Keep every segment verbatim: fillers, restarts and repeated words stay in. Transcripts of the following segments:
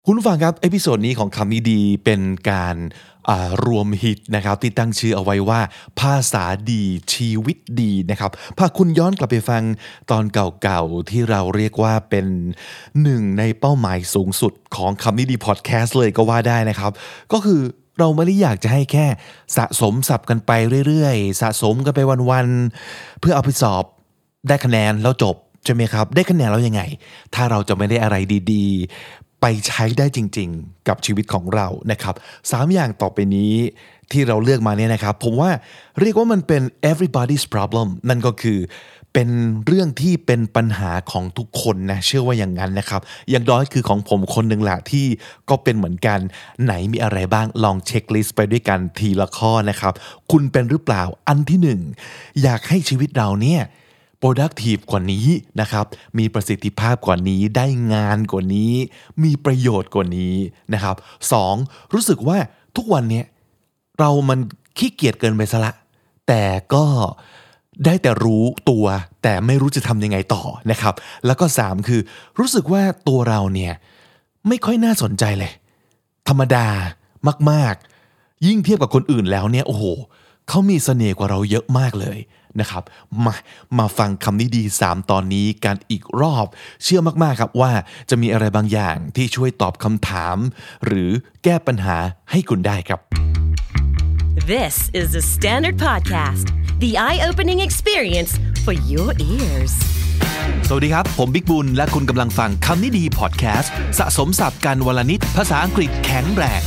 คุณผู้ฟังครับเอพิโซดนี้ของคำนี้ดีเป็นการรวมฮิตนะครับที่ตั้งชื่อเอาไว้ว่าภาษาดีชีวิตดีนะครับพาคุณย้อนกลับไปฟังตอนเก่าๆที่เราเรียกว่าเป็นหนึ่งในเป้าหมายสูงสุดของคำนี้ดีพอดแคสต์เลยก็ว่าได้นะครับก็คือเราไม่ได้อยากจะให้แค่สะสมศัพท์กันไปเรื่อยๆสะสมกันไปวันๆเพื่อเอาไปสอบได้คะแนนแล้วจบใช่ไหมครับได้คะแนนแล้วยังไงถ้าเราจะไม่ได้อะไรดีๆไปใช้ได้จริงๆกับชีวิตของเรานะครับสามอย่างต่อไปนี้ที่เราเลือกมาเนี่ยนะครับผมว่าเรียกว่ามันเป็น everybody's problem นั่นก็คือเป็นเรื่องที่เป็นปัญหาของทุกคนนะเชื่อว่าอย่างนั้นนะครับอย่างน้อยคือของผมคนหนึ่งแหละที่ก็เป็นเหมือนกันไหนมีอะไรบ้างลองเช็คลิสต์ไปด้วยกันทีละข้อนะครับคุณเป็นหรือเปล่าอันที่หนึ่งอยากให้ชีวิตเราเนี่ย productive กว่านี้นะครับมีประสิทธิภาพกว่านี้ได้งานกว่านี้มีประโยชน์กว่านี้นะครับสองรู้สึกว่าทุกวันนี้เรามันขี้เกียจเกินไปซะละแต่ก็ได้แต่รู้ตัวแต่ไม่รู้จะทำยังไงต่อนะครับแล้วก็สามคือรู้สึกว่าตัวเราเนี่ยไม่ค่อยน่าสนใจเลยธรรมดามากๆยิ่งเทียบกับคนอื่นแล้วเนี่ยโอ้โหเขามีเสน่ห์กว่าเราเยอะมากเลยนะครับมามาฟังคำนี้ดีสามตอนนี้กันอีกรอบเชื่อมากๆครับว่าจะมีอะไรบางอย่างที่ช่วยตอบคำถามหรือแก้ปัญหาให้คุณได้ครับ This is the Standard Podcast, the eye-opening experience for your ears. สวัสดีครับผมบิ๊กบุญและคุณกำลังฟังคำนี้ดีพอดแคสต์สะสมศัพท์กันวลนิดภาษาอังกฤษแข็งแรง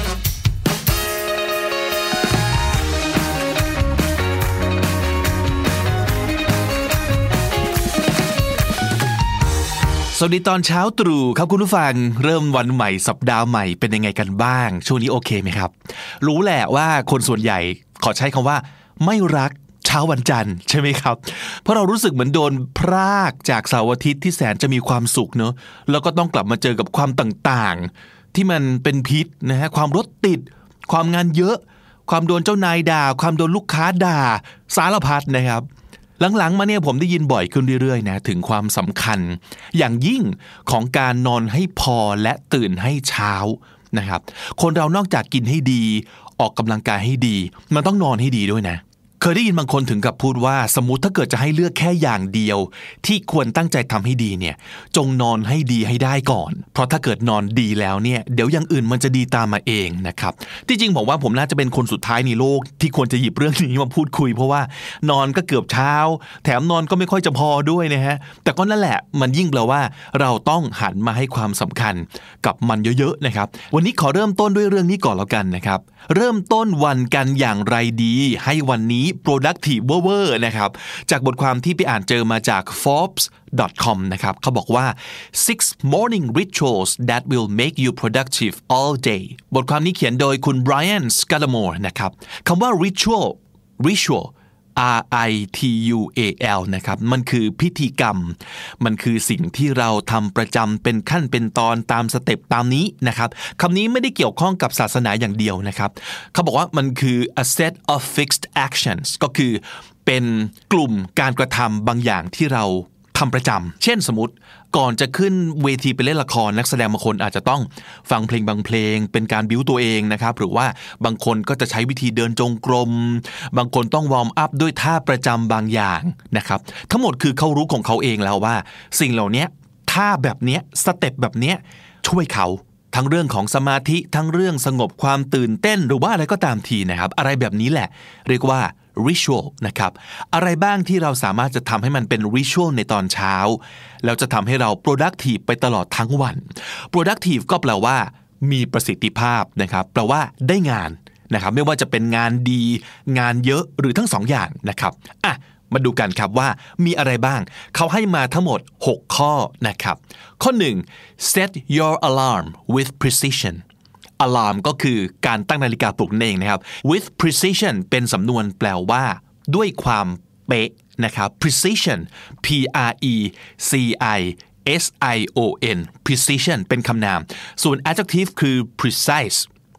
สวัสดีตอนเช้าตรู่ครับคุณผู้ฟังเริ่มวันใหม่สัปดาห์ใหม่เป็นยังไงกันบ้างช่วงนี้โอเคไหมครับรู้แหละว่าคนส่วนใหญ่ขอใช้คำว่าไม่รักเช้าวันจันทร์ใช่ไหมครับเพราะเรารู้สึกเหมือนโดนพรากจากเสาร์อาทิตย์ที่แสนจะมีความสุขเนอะแล้วก็ต้องกลับมาเจอกับความต่างๆที่มันเป็นพิษนะฮะความรถติดความงานเยอะความโดนเจ้านายด่าความโดนลูกค้าด่าสารพัดนะครับหลังๆมาเนี่ยผมได้ยินบ่อยขึ้นเรื่อยๆนะถึงความสำคัญอย่างยิ่งของการนอนให้พอและตื่นให้เช้านะครับคนเรานอกจากกินให้ดีออกกำลังกายให้ดีมันต้องนอนให้ดีด้วยนะเคยได้ยินบางคนถึงกับพูดว่าสมมุติถ้าเกิดจะให้เลือกแค่อย่างเดียวที่ควรตั้งใจทำให้ดีเนี่ยจงนอนให้ดีให้ได้ก่อนเพราะถ้าเกิดนอนดีแล้วเนี่ยเดี๋ยวอย่างอื่นมันจะดีตามมาเองนะครับที่จริงผมว่าผมน่าจะเป็นคนสุดท้ายในโลกที่ควรจะหยิบเรื่องนี้มาพูดคุยเพราะว่านอนก็เกือบเช้าแถมนอนก็ไม่ค่อยจะพอด้วยนะฮะแต่ก็นั่นแหละมันยิ่งแปลว่าเราต้องหันมาให้ความสำคัญกับมันเยอะๆนะครับวันนี้ขอเริ่มต้นด้วยเรื่องนี้ก่อนแล้วกันนะครับเริ่มต้นวันกันอย่างไรดีให้วันนี้ productive เวอร์นะครับจากบทความที่ไปอ่านเจอมาจาก forbes ดอท คอม นะครับเขาบอกว่า six morning rituals that will make you productive all day บทความนี้เขียนโดยคุณ Brian Scudamore นะครับคำว่า ritual ritual R I T U A L นะครับมันคือพิธีกรรมมันคือสิ่งที่เราทำประจำเป็นขั้นเป็นตอนตามสเต็ปตามนี้นะครับคำนี้ไม่ได้เกี่ยวข้องกับศาสนาอย่างเดียวนะครับเขาบอกว่ามันคือ a set of fixed actions ก็คือเป็นกลุ่มการกระทำบางอย่างที่เราทำประจำเช่นสมมติก่อนจะขึ้นเวทีไปเล่นละครนักแสดงบางคนอาจจะต้องฟังเพลงบางเพลงเป็นการบิ้วตัวเองนะครับหรือว่าบางคนก็จะใช้วิธีเดินจงกรมบางคนต้องวอร์มอัพด้วยท่าประจำบางอย่างนะครับทั้งหมดคือเขารู้ของเขาเองแล้วว่าสิ่งเหล่านี้ท่าแบบนี้สเต็ปแบบนี้ช่วยเขาทั้งเรื่องของสมาธิทั้งเรื่องสงบความตื่นเต้นหรือว่าอะไรก็ตามทีนะครับอะไรแบบนี้แหละเรียกว่าritual นะครับอะไรบ้างที่เราสามารถจะทำให้มันเป็น ritual ในตอนเช้าแล้วจะทำให้เรา productive ไปตลอดทั้งวัน productive ก็แปลว่ามีประสิทธิภาพนะครับแปลว่าได้งานนะครับไม่ว่าจะเป็นงานดีงานเยอะหรือทั้งสองอย่างนะครับอ่ะมาดูกันครับว่ามีอะไรบ้างเขาให้มาทั้งหมดหกข้อนะครับข้อหนึ่ง set your alarm with precision alarm ก็คือการตั้งนาฬิกาปลุกนั่นเองนะครับ with precision เป็นสำนวนแปลว่าด้วยความเป๊ะนะครับ precision P R E C I S I O N precision เป็นคำนามส่วน adjective คือ precise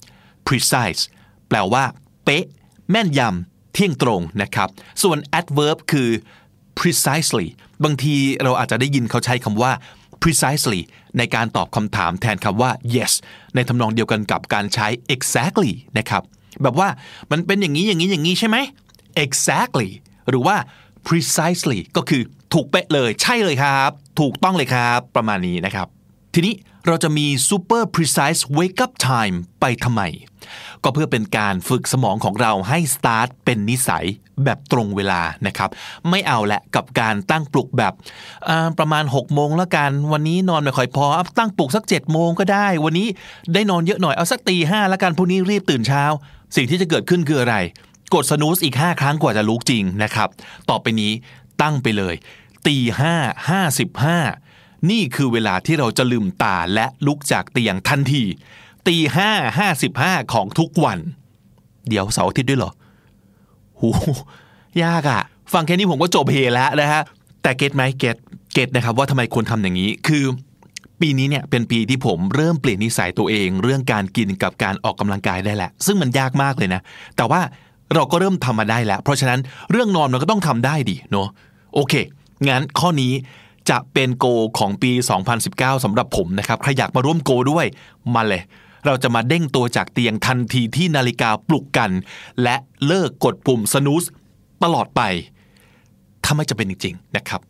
precise แปลว่าเป๊ะแม่นยำเที่ยงตรงนะครับส่วน adverb คือ precisely บางทีเราอาจจะได้ยินเขาใช้คำว่า precisely ในการตอบคำถามแทนคำว่า yes ในทำนองเดียวกันกับการใช้ exactly นะครับแบบว่ามันเป็นอย่างนี้อย่างนี้อย่างนี้ใช่ไหม exactly หรือว่า precisely ก็คือถูกเป๊ะเลยใช่เลยครับถูกต้องเลยครับประมาณนี้นะครับทีนี้เราจะมี super precise wake up time ไปทำไมก็เพื่อเป็นการฝึกสมองของเราให้ start เป็นนิสัยแบบตรงเวลานะครับไม่เอาแหละกับการตั้งปลุกแบบประมาณหกโมงแล้วกันวันนี้นอนไม่ค่อยพอตั้งปลุกสักเจ็ดโมงก็ได้วันนี้ได้นอนเยอะหน่อยเอาสักตีห้าแล้วกันพรุ่งนี้รีบตื่นเช้าสิ่งที่จะเกิดขึ้นคืออะไรกด snooze อีกห้าครั้งกว่าจะลุกจริงนะครับต่อไปนี้ตั้งไปเลยตีห้าห้าสิบห้านี่คือเวลาที่เราจะลืมตาและลุกจากเตียงทันทีตีห้าห้าสิบห้าของทุกวันเดี๋ยวเสาร์อาทิตย์ด้วยเหรอหูยากอะฟังแค่นี้ผมก็จบเฮแล้วนะฮะแต่เก็ตไหมเก็ตเก็ตนะครับว่าทำไมควรทำอย่างนี้คือปีนี้เนี่ยเป็นปีที่ผมเริ่มเปลี่ยนนิสัยตัวเองเรื่องการกินกับการออกกำลังกายได้แหละซึ่งมันยากมากเลยนะแต่ว่าเราก็เริ่มทำมาได้แล้วเพราะฉะนั้นเรื่องนอนมันก็ต้องทำได้ดิเนาะโอเคงั้นข้อนี้จะเป็นโกของปีสองพันสิบเก้าสำหรับผมนะครับใครอยากมาร่วมโกด้วยมาเลยเราจะมาเด้งตัวจากเตียงทันทีที่นาฬิกาปลุกกันและเลิกกดปุ่ม snooze ตลอดไปถ้าไม่จะเป็นจริงๆนะครับ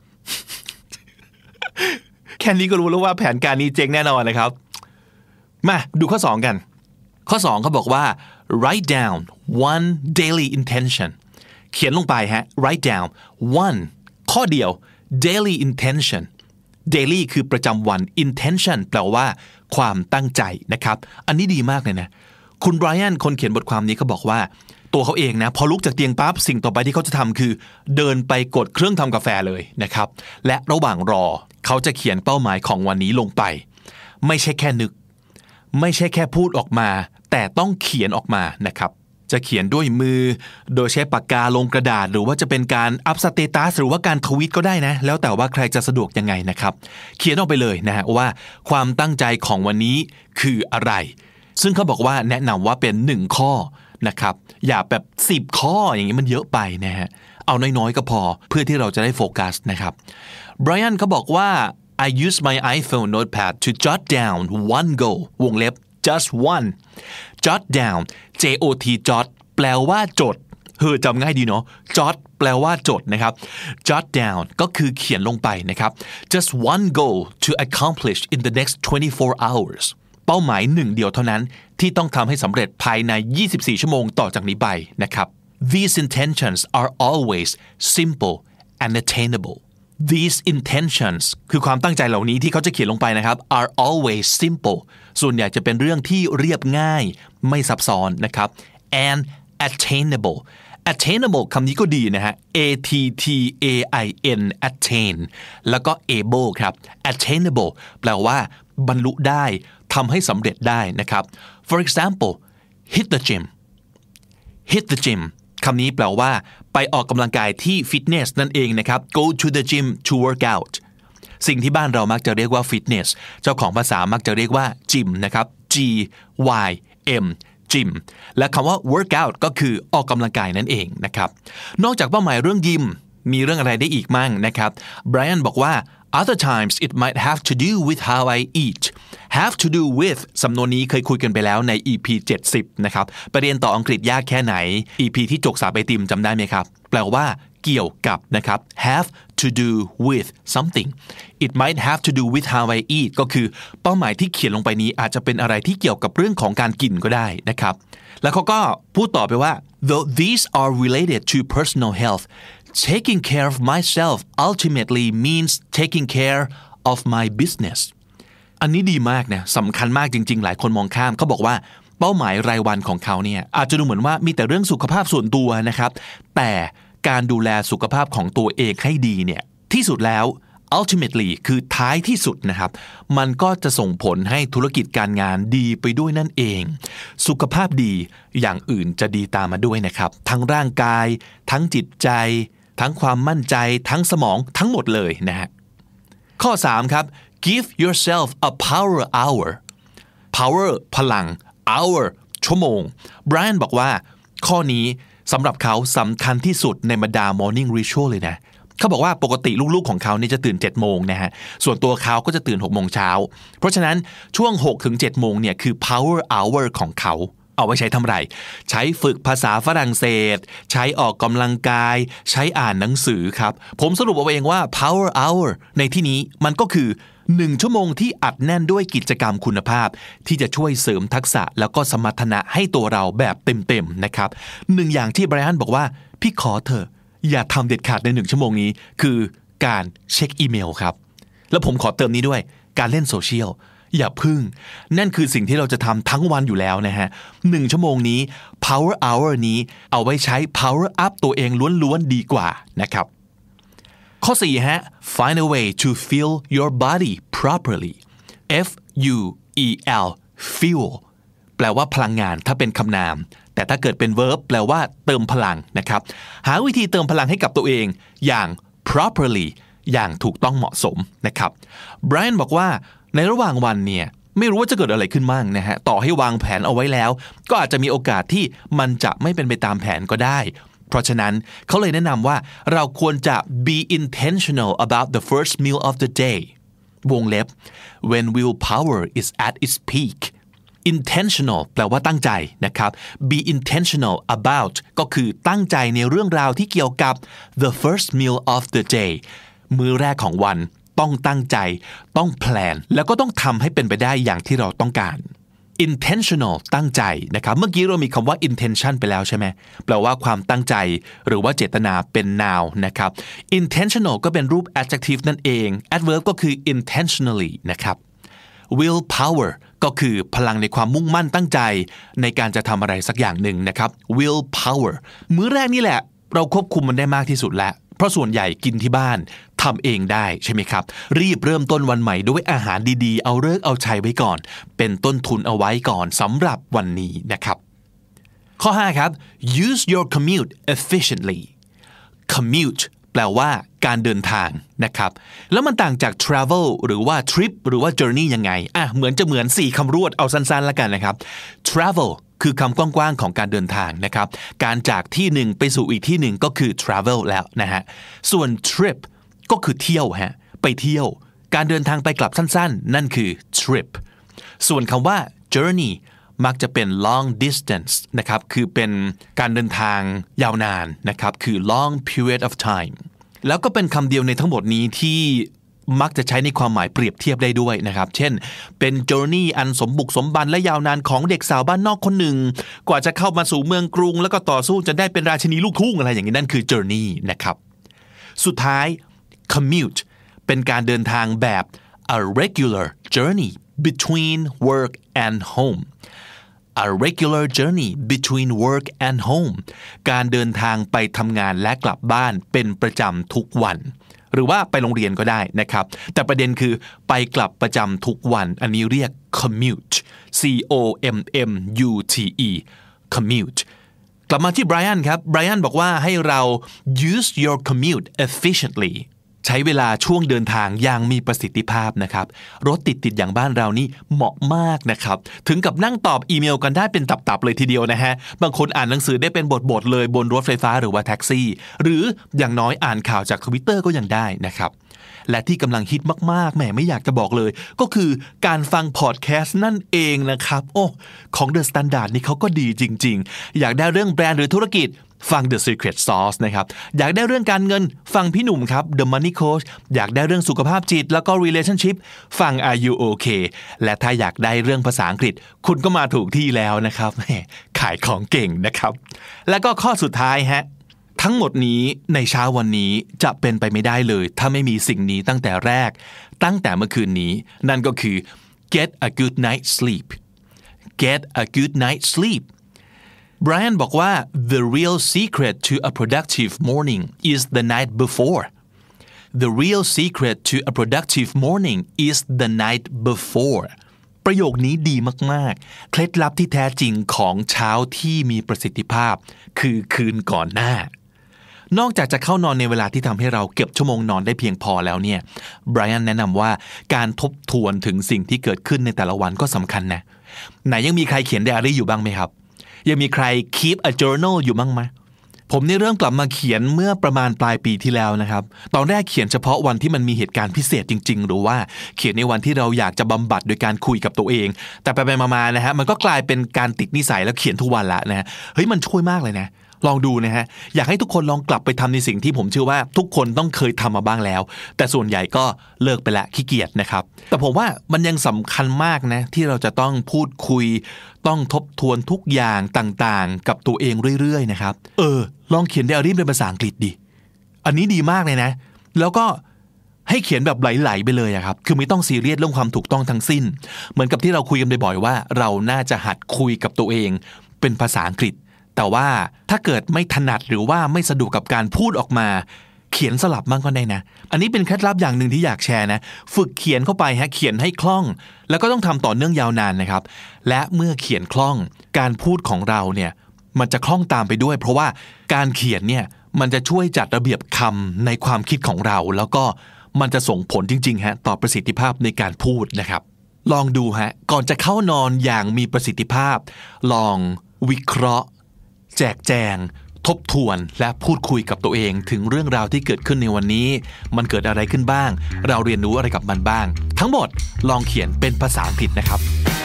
แค่นี้ก็รู้แล้วว่าแผนการนี้เจ๊งแน่นอนนะครับมาดูข้อสองกันข้อสองเขาบอกว่า write down one daily intention เขียนลงไปฮะ write down one ข้อเดียว daily intention daily คือประจำวัน intention แปลว่าความตั้งใจนะครับอันนี้ดีมากเลยนะคุณไบรอันคนเขียนบทความนี้เขาบอกว่าตัวเขาเองนะพอลุกจากเตียงปั๊บสิ่งต่อไปที่เขาจะทำคือเดินไปกดเครื่องทำกาแฟเลยนะครับและระหว่างรอเขาจะเขียนเป้าหมายของวันนี้ลงไปไม่ใช่แค่นึกไม่ใช่แค่พูดออกมาแต่ต้องเขียนออกมานะครับจะเขียนด้วยมือโดยใช้ปากกาลงกระดาษหรือว่าจะเป็นการอัพสเตตัสหรือว่าการทวีตก็ได้นะแล้วแต่ว่าใครจะสะดวกยังไงนะครับเขียนออกไปเลยนะฮะว่าความตั้งใจของวันนี้คืออะไรซึ่งเขาบอกว่าแนะนำว่าเป็นหนึ่งข้อนะครับอย่าแบบสิบข้ออย่างนี้มันเยอะไปนะฮะเอาน้อยๆก็พอเพื่อที่เราจะได้โฟกัสนะครับไบรอันเขาบอกว่า I use my iPhone notepad to jot down one goal วงเล็บjust one jot down J O T jot แปลว่าจดเฮ้ยจำง่ายดีเนาะ jot แปลว่าจดนะครับ jot down ก็คือเขียนลงไปนะครับ just one goal to accomplish in the next twenty-four hours เป้าหมายหนึ่งเดียวเท่านั้นที่ต้องทำให้สำเร็จภายในยี่สิบสี่ชั่วโมงต่อจากนี้ไปนะครับ These intentions are always simple and attainable These intentions คือความตั้งใจเหล่านี้ที่เขาจะเขียนลงไปนะครับ are always simple ส่วนใหญ่จะเป็นเรื่องที่เรียบง่ายไม่ซับซ้อนนะครับ and attainable attainable คำนี้ก็ดีนะฮะ A T T A I N attain แล้วก็ able ครับ attainable แปลว่าบรรลุได้ทำให้สำเร็จได้นะครับ for example hit the gym hit the gym คำนี้แปลว่าไปออกกำลังกายที่ฟิตเนสนั่นเองนะครับ go to the gym to work out สิ่งที่บ้านเรามักจะเรียกว่าฟิตเนสเจ้าของภาษามักจะเรียกว่าจิมนะครับ G Y M จิมและคำว่า work out ก็คือออกกำลังกายนั่นเองนะครับนอกจากเป้าหมายเรื่องยิมมีเรื่องอะไรได้อีกมั่งนะครับไบรอันบอกว่า other times it might have to do with how I eat have to do with สำนวนนี้เคยคุยกันไปแล้วใน อี พี เจ็ดสิบนะครับไปเรียนต่ออังกฤษยากแค่ไหน อี พี ที่จกสาบไอติมจำได้ไหมครับแปลว่าเกี่ยวกับนะครับ have to do with something it might have to do with how I eat ก็คือเป้าหมายที่เขียนลงไปนี้อาจจะเป็นอะไรที่เกี่ยวกับเรื่องของการกินก็ได้นะครับแล้วเขาก็พูดต่อไปว่า though these are related to personal health taking care of myself ultimately means taking care of my business อันนี้ดีมากนะสำคัญมากจริงๆหลายคนมองข้ามเขาบอกว่าเป้าหมายรายวันของเขาเนี่ยอาจจะดูเหมือนว่ามีแต่เรื่องสุขภาพส่วนตัวนะครับแต่การดูแลสุขภาพของตัวเองให้ดีเนี่ยที่สุดแล้ว ultimately คือท้ายที่สุดนะครับมันก็จะส่งผลให้ธุรกิจการงานดีไปด้วยนั่นเองสุขภาพดีอย่างอื่นจะดีตามมาด้วยนะครับทั้งร่างกายทั้งจิตใจทั้งความมั่นใจทั้งสมองทั้งหมดเลยนะฮะข้อสามครับ give yourself a power hour power พลัง hour ชั่วโมง Brian บอกว่าข้อนี้สำหรับเขาสำคัญที่สุดในบรรดา morning ritual เลยนะเขาบอกว่าปกติลูกๆของเขาเนี่ยจะตื่นเจ็ดโมงนะฮะส่วนตัวเขาก็จะตื่นหกโมงเช้าเพราะฉะนั้นช่วงหกถึงเจ็ดโมงเนี่ยคือ power hour ของเขาเอาไว้ใช้ทำไรใช้ฝึกภาษาฝรั่งเศสใช้ออกกำลังกายใช้อ่านหนังสือครับผมสรุปเอาเองว่า power hour ในที่นี้มันก็คือหนึ่งชั่วโมงที่อัดแน่นด้วยกิจกรรมคุณภาพที่จะช่วยเสริมทักษะแล้วก็สมรรถนะให้ตัวเราแบบเต็มๆนะครับหนึ่งอย่างที่ไบรอันบอกว่าพี่ขอเถอะอย่าทำเด็ดขาดในหนึ่งชั่วโมงนี้คือการเช็คอีเมลครับแล้วผมขอเติมนี้ด้วยการเล่นโซเชียลอย่าพึ่งนั่นคือสิ่งที่เราจะทำทั้งวันอยู่แล้วนะฮะหนึ่งชั่วโมงนี้ power hour นี้เอาไว้ใช้ power up ตัวเองล้วนๆดีกว่านะครับข้อสี่ฮะ find a way to fuel your body properly F U E L fuel แปลว่าพลังงานถ้าเป็นคำนามแต่ถ้าเกิดเป็น verb แปลว่าเติมพลังนะครับหาวิธีเติมพลังให้กับตัวเองอย่าง properly อย่างถูกต้องเหมาะสมนะครับ Brian บอกว่าในระหว่างวันเนี่ยไม่รู้ว่าจะเกิดอะไรขึ้นบ้างนะฮะต่อให้วางแผนเอาไว้แล้วก็อาจจะมีโอกาสที่มันจะไม่เป็นไปตามแผนก็ได้เพราะฉะนั้นเขาเลยแนะนำว่าเราควรจะ be intentional about the first meal of the day วงเล็บ when willpower is at its peak intentional แปลว่าตั้งใจนะครับ be intentional about ก็คือตั้งใจในเรื่องราวที่เกี่ยวกับ the first meal of the day มื้อแรกของวันต้องตั้งใจต้องแพลนแล้วก็ต้องทำให้เป็นไปได้อย่างที่เราต้องการ intentional ตั้งใจนะครับเมื่อกี้เรามีคำว่า intention ไปแล้วใช่ไหมแปลว่าความตั้งใจหรือว่าเจตนาเป็น noun นะครับ intentional ก็เป็นรูป adjective นั่นเอง adverb ก็คือ intentionally นะครับ willpower ก็คือพลังในความมุ่งมั่นตั้งใจในการจะทำอะไรสักอย่างหนึ่งนะครับ willpower มื้อแรกนี่แหละเราควบคุมมันได้มากที่สุดแล้วเพราะส่วนใหญ่กินที่บ้านทำเองได้ใช่ไหมครับรีบเริ่มต้นวันใหม่ด้วยอาหารดีๆเอาเลิกเอาชัยไว้ก่อนเป็นต้นทุนเอาไว้ก่อนสำหรับวันนี้นะครับข้อห้าครับ use your commute efficiently commute แปลว่าการเดินทางนะครับแล้วมันต่างจาก travel หรือว่า trip หรือว่า journey ยังไงอ่ะเหมือนจะเหมือนสี่คำรวดเอาสั้นๆแล้วกันนะครับ travelคือคำกว้างๆของการเดินทางนะครับการจากที่หนึ่งไปสู่อีกที่หนึ่งก็คือ travel แล้วนะฮะส่วน trip ก็คือเที่ยวฮะไปเที่ยวการเดินทางไปกลับสั้นๆนั่นคือ trip ส่วนคำว่า journey มักจะเป็น long distance นะครับคือเป็นการเดินทางยาวนานนะครับคือ long period of time แล้วก็เป็นคำเดียวในทั้งหมดนี้ที่มักจะใช้ในความหมายเปรียบเทียบได้ด้วยนะครับเช่นเป็น journey อันสมบุกสมบันและยาวนานของเด็กสาวบ้านนอกคนหนึ่งกว่าจะเข้ามาสู่เมืองกรุงแล้วก็ต่อสู้จนได้เป็นราชินีลูกทุ่งอะไรอย่างนี้นั่นคือ journey นะครับสุดท้าย commute เป็นการเดินทางแบบ a regular journey between work and home a regular journey between work and home การเดินทางไปทำงานและกลับบ้านเป็นประจำทุกวันหรือว่าไปโรงเรียนก็ได้นะครับแต่ประเด็นคือไปกลับประจำทุกวันอันนี้เรียก commute C O M M U T E commute กลับมาที่ไบรอันครับไบรอันบอกว่าให้เรา use your commute efficiently ใช้เวลาช่วงเดินทางอย่างมีประสิทธิภาพนะครับรถติดๆอย่างบ้านเรานี่เหมาะมากนะครับถึงกับนั่งตอบอีเมลกันได้เป็นตับๆเลยทีเดียวนะฮะบางคนอ่านหนังสือได้เป็นบทๆเลยบนรถไฟฟ้าหรือว่าแท็กซี่หรืออย่างน้อยอ่านข่าวจาก Twitter ก็ยังได้นะครับและที่กำลังฮิตมากๆแหมไม่อยากจะบอกเลยก็คือการฟังพอดแคสต์นั่นเองนะครับโอ้ของ The Standard นี่เขาก็ดีจริงๆอยากได้เรื่องแบรนด์หรือธุรกิจฟัง The Secret Sauce นะครับอยากได้เรื่องการเงินฟังพี่หนุ่มครับ The Money Coach อยากได้เรื่องสุขภาพจิตแล้วก็ Relationship ฟัง Are You OK และถ้าอยากได้เรื่องภาษาอังกฤษคุณก็มาถูกที่แล้วนะครับแหมขายของเก่งนะครับแล้วก็ข้อสุดท้ายฮะทั้งหมดนี้ในเช้าวันนี้จะเป็นไปไม่ได้เลยถ้าไม่มีสิ่งนี้ตั้งแต่แรกตั้งแต่เมื่อคืนนี้นั่นก็คือ get a good night sleep get a good night sleep Brian บอกว่า the real secret to a productive morning is the night before the real secret to a productive morning is the night before ประโยคนี้ดีมากๆเคล็ดลับที่แท้จริงของเช้าที่มีประสิทธิภาพคือคืนก่อนหน้านอกจากจะเข้านอนในเวลาที่ทำให้เราเก็บชั่วโมงนอนได้เพียงพอแล้วเนี่ยไบรอันแนะนำว่าการทบทวนถึงสิ่งที่เกิดขึ้นในแต่ละวันก็สำคัญนะไหนยังมีใครเขียนไดอารี่อยู่บ้างไหมครับยังมีใคร keep a journal อยู่บ้างไหมผผมนี่เริ่มกลับมาเขียนเมื่อประมาณปลายปีที่แล้วนะครับตอนแรกเขียนเฉพาะวันที่มันมีเหตุการณ์พิเศษจริงๆหรือว่าเขียนในวันที่เราอยากจะบำบัดโดยการคุยกับตัวเองแต่ไปๆมาๆนะฮะมันก็กลายเป็นการติดนิสัยแล้วเขียนทุกวันละนะฮะเฮ้ยมันช่วยมากเลยนะลองดูนะฮะอยากให้ทุกคนลองกลับไปทำในสิ่งที่ผมเชื่อว่าทุกคนต้องเคยทำมาบ้างแล้วแต่ส่วนใหญ่ก็เลิกไปละขี้เกียจนะครับแต่ผมว่ามันยังสำคัญมากนะที่เราจะต้องพูดคุยต้องทบทวนทุกอย่างต่างๆกับตัวเองเรื่อยๆนะครับเออลองเขียนไดอารี่เป็นภาษาอังกฤษดิอันนี้ดีมากเลยนะแล้วก็ให้เขียนแบบไหลๆไปเลยอะครับคือไม่ต้องซีเรียสเรื่องความถูกต้องทั้งสิ้นเหมือนกับที่เราคุยกันบ่อยๆว่าเราน่าจะหัดคุยกับตัวเองเป็นภาษาอังกฤษแต่ว่าถ้าเกิดไม่ถนัดหรือว่าไม่สะดวกกับการพูดออกมาเขียนสลับบ้างก็ได้นะอันนี้เป็นเคล็ดลับอย่างหนึ่งที่อยากแชร์นะฝึกเขียนเข้าไปฮะเขียนให้คล่องแล้วก็ต้องทำต่อเนื่องยาวนานนะครับและเมื่อเขียนคล่องการพูดของเราเนี่ยมันจะคล่องตามไปด้วยเพราะว่าการเขียนเนี่ยมันจะช่วยจัดระเบียบคำในความคิดของเราแล้วก็มันจะส่งผลจริงๆฮะต่อประสิทธิภาพในการพูดนะครับลองดูฮะก่อนจะเข้านอนอย่างมีประสิทธิภาพลองวิเคราะห์แจกแจงทบทวนและพูดคุยกับตัวเองถึงเรื่องราวที่เกิดขึ้นในวันนี้มันเกิดอะไรขึ้นบ้างเราเรียนรู้อะไรกับมันบ้างทั้งหมดลองเขียนเป็นภาษาอังกฤษนะครับ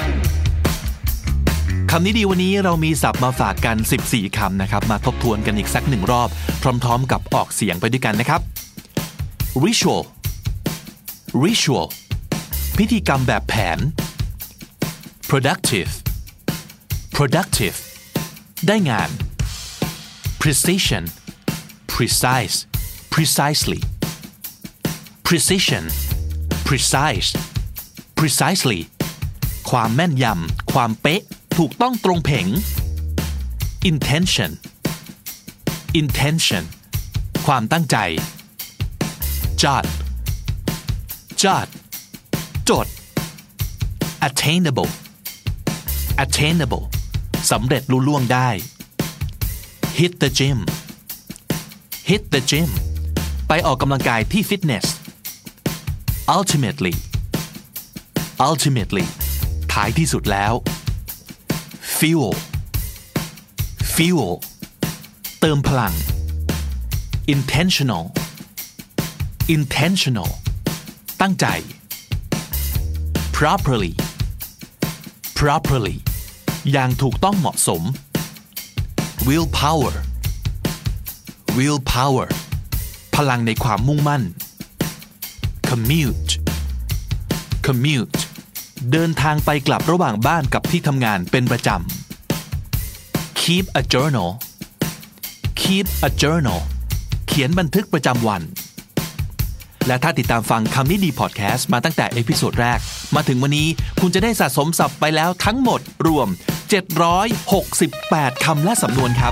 คำนี้ดีวันนี้เรามีศัพท์มาฝากกันสิบสี่คำนะครับมาทบทวนกันอีกสักหนึ่งรอบพร้อมๆกับออกเสียงไปด้วยกันนะครับ ritual ritual พิธีกรรมแบบแผน productive productive ได้งาน precision precise precisely precision precise precisely ความแม่นยำความเป๊ะถูกต้องตรงเพ่ง intention intention ความตั้งใจ jot jot จด attainable attainable สำเร็จลุล่วงได้ hit the gym hit the gym ไปออกกำลังกายที่ฟิตเนส ultimately ultimately ท้ายที่สุดแล้ว fuel fuel เติมพลัง intentional intentional ตั้งใจ properly properly อย่างถูกต้องเหมาะสม willpower willpower พลังในความมุ่งมั่น commute commute เดินทางไปกลับระหว่างบ้านกับที่ทำงานเป็นประจำ keep a journal keep a journal เขียนบันทึกประจำวันและถ้าติดตามฟังคำนี้ดีพอดแคสต์มาตั้งแต่เอพิโซดแรกมาถึงวันนี้คุณจะได้สะสมศัพท์ไปแล้วทั้งหมดรวมเจ็ดร้อยหกสิบแปดคำและสำนวนครับ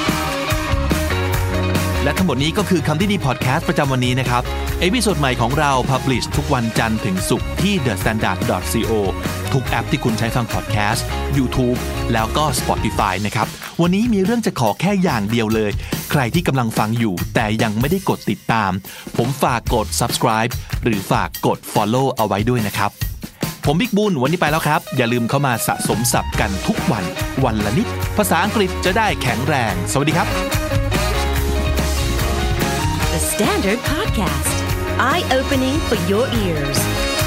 และทั้งหมดนี้ก็คือคำนี้ดีพอดแคสต์ประจำวันนี้นะครับเอพิโซดใหม่ของเรา Publish ทุกวันจันทร์ถึงศุกร์ที่ เดอะสแตนดาร์ด ดอท ซี โอ ทุกแอปที่คุณใช้ฟังพอดแคสต์ YouTube แล้วก็ Spotify นะครับวันนี้มีเรื่องจะขอแค่อย่างเดียวเลยใครที่กำลังฟังอยู่แต่ยังไม่ได้กดติดตามผมฝากกด Subscribe หรือฝากกด Follow เอาไว้ด้วยนะครับผมบิ๊กบุญวันนี้ไปแล้วครับอย่าลืมเข้ามาสะสมศัพท์กันทุกวันวันละนิดภาษาอังกฤษจะได้แข็งแรงสวัสดีครับ The Standard Podcast Eye-opening for your ears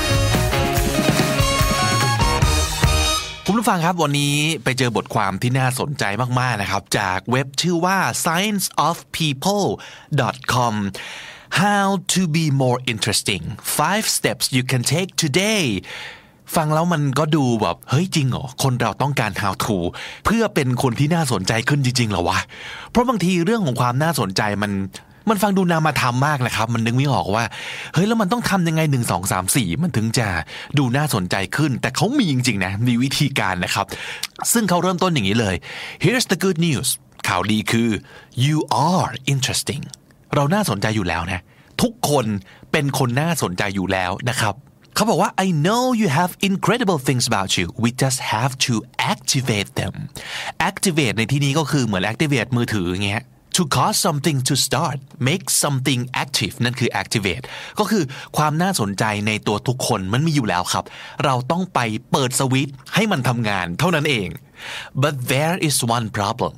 คุณผู้ฟังครับวันนี้ไปเจอบทความที่น่าสนใจมากๆนะครับจากเว็บชื่อว่า science of people ดอท คอม How to be more interesting five steps you can take today ฟังแล้วมันก็ดูแบบเฮ้ยจริงเหรอคนเราต้องการ how to เพื่อเป็นคนที่น่าสนใจขึ้นจริงๆเหรอวะเพราะบางทีเรื่องของความน่าสนใจมันมันฟังดูนามธรรมมากนะครับมันนึกไม่ออกว่าเฮ้ยแล้วมันต้องทำยังไงหนึ่ง สอง สาม สี่มันถึงจะดูน่าสนใจขึ้นแต่เขามีจริงๆนะมีวิธีการนะครับซึ่งเขาเริ่มต้นอย่างนี้เลย Here's the good news ข่าวดีคือ you are interesting เราน่าสนใจอยู่แล้วนะทุกคนเป็นคนน่าสนใจอยู่แล้วนะครับเขาบอกว่า I know you have incredible things about you we just have to activate them activate ในที่นี้ก็คือเหมือน activate มือถืออย่างเงี้ยto cause something to start make something active นั่นคือ activate ก็คือความน่าสนใจในตัวทุกคนมันมีอยู่แล้วครับเราต้องไปเปิดสวิตช์ให้มันทำงานเท่านั้นเอง but there is one problem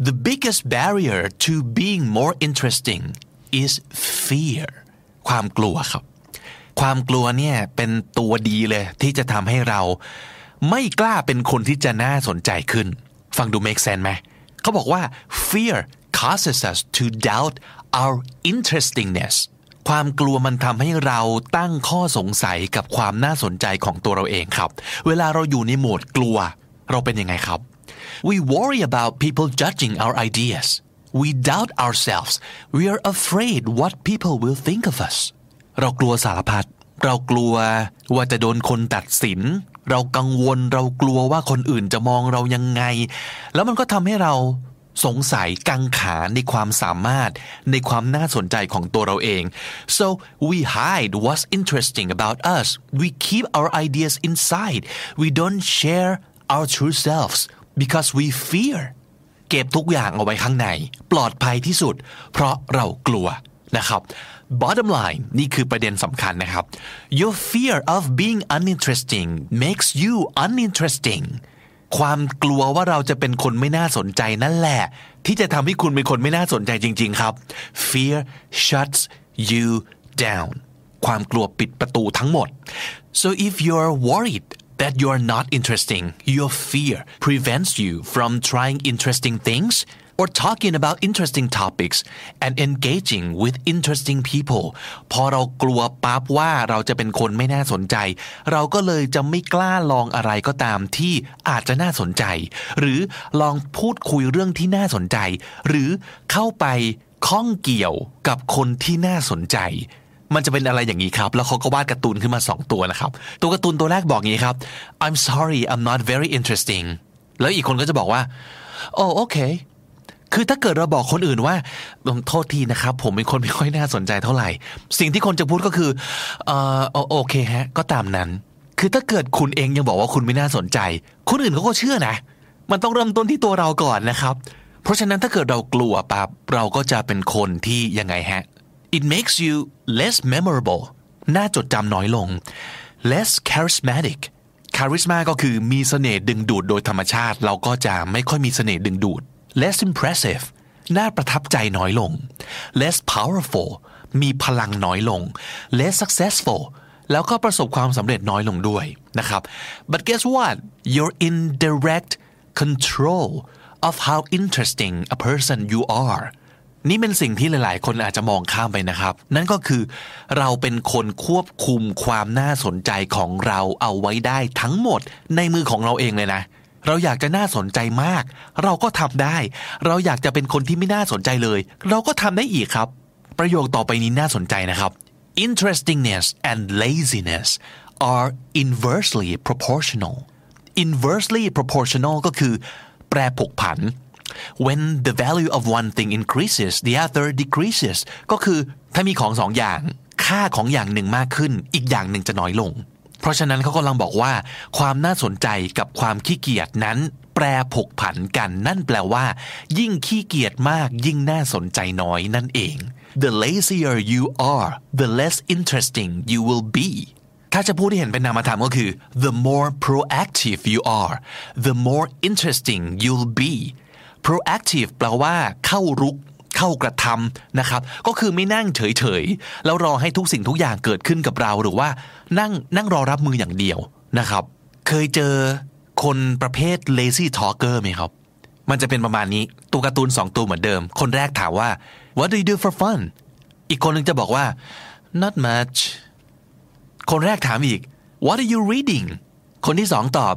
The biggest barrier to being more interesting is fear ความกลัวครับความกลัวเนี่ยเป็นตัวดีเลยที่จะทำให้เราไม่กล้าเป็นคนที่จะน่าสนใจขึ้นฟังดู make sense ไหมเขาบอกว่า fear causes us to doubt our interestingness ความกลัวมันทำให้เราตั้งข้อสงสัยกับความน่าสนใจของตัวเราเองครับเวลาเราอยู่ในโหมดกลัวเราเป็นยังไงครับ We worry about people judging our ideas We doubt ourselves We are afraid what people will think of us เรากลัวสารพัดเรากลัวว่าจะโดนคนตัดสินเรากังวลเรากลัวว่าคนอื่นจะมองเรายังไงแล้วมันก็ทำให้เราสงสัยกังขาในความสามารถในความน่าสนใจของตัวเราเอง so we hide what's interesting about us we keep our ideas inside we don't share our true selves because we fear เก็บทุกอย่างเอาไว้ข้างในปลอดภัยที่สุดเพราะเรากลัวนะครับ bottom line นี่คือประเด็นสำคัญนะครับ your fear of being uninteresting makes you uninteresting ความกลัวว่าเราจะเป็นคนไม่น่าสนใจนั่นแหละที่จะทำให้คุณเป็นคนไม่น่าสนใจจริงๆครับ fear shuts you down ความกลัวปิดประตูทั้งหมด so if you're worried that you're not interesting your fear prevents you from trying interesting things or talking about interesting topics and engaging with interesting people พอเรากลัวปั๊บว่าเราจะเป็นคนไม่น่าสนใจเราก็เลยจะไม่กล้าลองอะไรก็ตามที่อาจจะน่าสนใจหรือลองพูดคุยเรื่องที่น่าสนใจหรือเข้าไปข้องเกี่ยวกับคนที่น่าสนใจมันจะเป็นอะไรอย่างนี้ครับแล้วเขาก็วาดการ์ตูนขึ้นมาสองตัวนะครับตัวการ์ตูนตัวแรกบอกงี้ครับ I'm sorry I'm not very interesting แล้วอีกคนก็จะบอกว่าโอ้โอเคคือถ้าเกิดเราบอกคนอื่นว่าโทษทีนะครับผมเป็นคนไม่ค่อยน่าสนใจเท่าไหร่สิ่งที่คนจะพูดก็คือเอ่อโอเคฮะก็ตามนั้นคือถ้าเกิดคุณเองยังบอกว่าคุณไม่น่าสนใจคนอื่นเขาก็เชื่อนะมันต้องเริ่มต้นที่ตัวเราก่อนนะครับเพราะฉะนั้นถ้าเกิดเรากลัวปั๊บเราก็จะเป็นคนที่ยังไงฮะIt makes you less memorable น่าจดจำน้อยลง less charismatic charisma ก็คือมีเสน่ห์ดึงดูดโดยธรรมชาติเราก็จะไม่ค่อยมีเสน่ห์ดึงดูด less impressive น่าประทับใจน้อยลง less powerful มีพลังน้อยลง less successful แล้วก็ประสบความสำเร็จน้อยลงด้วยนะครับ but guess what you're in direct control of how interesting a person you areนี่เป็นสิ่งที่หลายๆคนอาจจะมองข้ามไปนะครับนั่นก็คือเราเป็นคนควบคุมความน่าสนใจของเราเอาไว้ได้ทั้งหมดในมือของเราเองเลยนะเราอยากจะน่าสนใจมากเราก็ทำได้เราอยากจะเป็นคนที่ไม่น่าสนใจเลยเราก็ทำได้อีกครับประโยคต่อไปนี้น่าสนใจนะครับ Interestingness and laziness are inversely proportional inversely proportional ก็คือแปรผกผันWhen the value of one thing increases the other decreases ก็คือถ้ามีของสองอย่างค่าของอย่างหนึ่งมากขึ้นอีกอย่างหนึ่งจะน้อยลงเพราะฉะนั้นเขากำลังบอกว่าความน่าสนใจกับความขี้เกียจนั้นแปรผกผันกันนั่นแปลว่ายิ่งขี้เกียจมากยิ่งน่าสนใจน้อยนั่นเอง The lazier you are the less interesting you will be ถ้าจะพูดที่เห็นเป็นนามธรรมก็คือ the more proactive you are the more interesting you'll be proactive แปลว่าเข้ารุกเข้ากระทำนะครับก็คือไม่นั่งเฉยๆแล้วรอให้ทุกสิ่งทุกอย่างเกิดขึ้นกับเราหรือว่านั่งนั่งรอรับมืออย่างเดียวนะครับเคยเจอคนประเภท lazy talker ไหมครับมันจะเป็นประมาณนี้ตัวการ์ตูนสองตัวเหมือนเดิมคนแรกถามว่า what do you do for fun อีกคนนึงจะบอกว่า not much คนแรกถามอีก what are you reading คนที่สองตอบ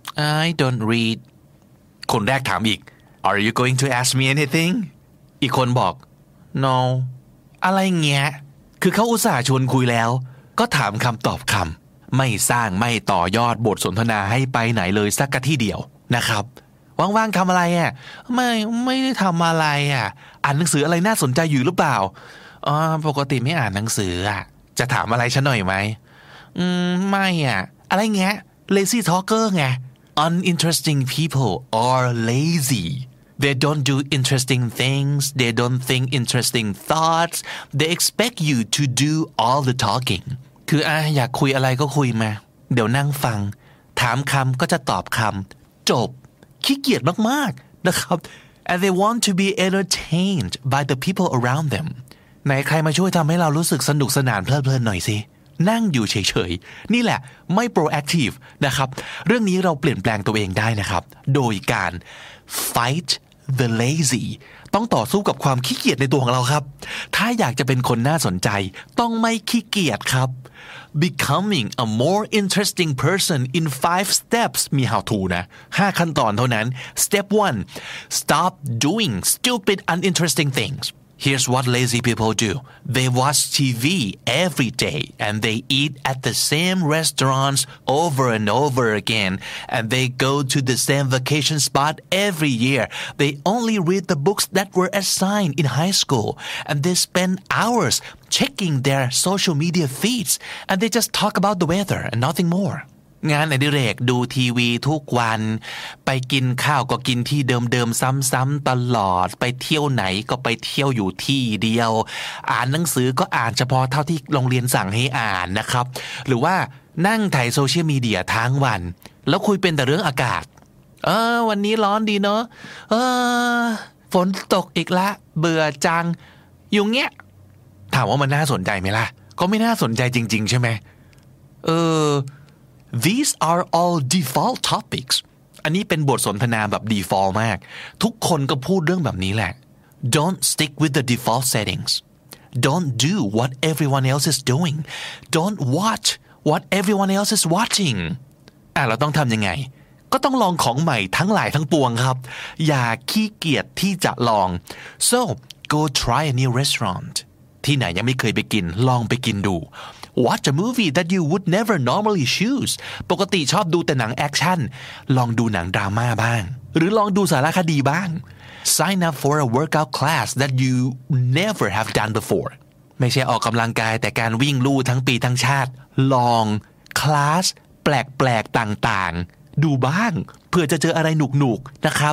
I don't read คนแรกถามอีกAre you going to ask me anything อีกคนบอก No อะไรเงี้ยคือเขาอุตส่าห์ชวนคุยแล้วก็ถามคำตอบคำไม่สร้างไม่ต่อยอดบทสนทนาให้ไปไหนเลยสักกะที่เดียวนะครับว่างๆทำอะไรอ่ะไม่ไม่ได้ทำอะไรอ่ะอ่านหนังสืออะไรน่าสนใจอยู่หรือเปล่าอ๋อปกติไม่อ่านหนังสืออ่ะจะถามอะไรฉันหน่อยไหมอืมไม่อ่ะอะไรเงี้ย lazy talker ไง uninteresting people are lazy They don't do interesting things. They don't think interesting thoughts. They expect you to do all the talking. คืออ่ะอยากคุยอะไรก็คุยมาเดี๋ยวนั่งฟังถามคำก็จะตอบคำจบขี้เกียจมากๆนะครับ and they want to be entertained by the people around them ไหนใครมาช่วยทำให้เรารู้สึกสนุกสนานเพลิดเพลินหน่อยสินั่งอยู่เฉยๆนี่แหละไม่ proactive นะครับเรื่องนี้เราเปลี่ยนแปลงตัวเองได้นะครับโดยการ fight the lazy ต้องต่อสู้กับความขี้เกียจในตัวของเราครับถ้าอยากจะเป็นคนน่าสนใจต้องไม่ขี้เกียจครับ becoming a more interesting person in five steps มี how to นะห้าขั้นตอนเท่านั้น step one stop doing stupid uninteresting things Here's what lazy people do. They watch T V every day and they eat at the same restaurants over and over again and they go to the same vacation spot every year. They only read the books that were assigned in high school and they spend hours checking their social media feeds and they just talk about the weather and nothing more.งานอดิเรกดูทีวีทุกวันไปกินข้าวก็กินที่เดิมๆซ้ำๆตลอดไปเที่ยวไหนก็ไปเที่ยวอยู่ที่เดียวอ่านหนังสือก็อ่านเฉพาะเท่าที่โรงเรียนสั่งให้อ่านนะครับหรือว่านั่งถ่ายโซเชียลมีเดียทั้งวันแล้วคุยเป็นแต่เรื่องอากาศเออวันนี้ร้อนดีเนาะเออฝนตกอีกละเบื่อจังอยู่เงี้ยถามว่ามันน่าสนใจไหมล่ะก็ไม่น่าสนใจจริงๆใช่ไหมเออThese are all default topics อันนี้เป็นบทสนทนาแบบ default มากทุกคนก็พูดเรื่องแบบนี้แหละ Don't stick with the default settings Don't do what everyone else is doing Don't watch what everyone else is watching อ่ะเราต้องทำยังไงก็ต้องลองของใหม่ทั้งหลายทั้งปวงครับอย่าขี้เกียจที่จะลอง So go try a new restaurant ที่ไหนยังไม่เคยไปกินลองไปกินดูWatch a movie that you would never normally choose ปกติชอบดูแต่หนังแอคชั่นลองดูหนังดราม่าบ้างหรือลองดูสารคดีบ้าง Sign up for a workout class that you never have done before ไม่ใช่ออกกำลังกายแต่การวิ่งลู่ทั้งปีทั้งชาติลองคลาสแปลกๆต่างๆดูบ้างเพื่อจะเจออะไรหนุกๆนะครับ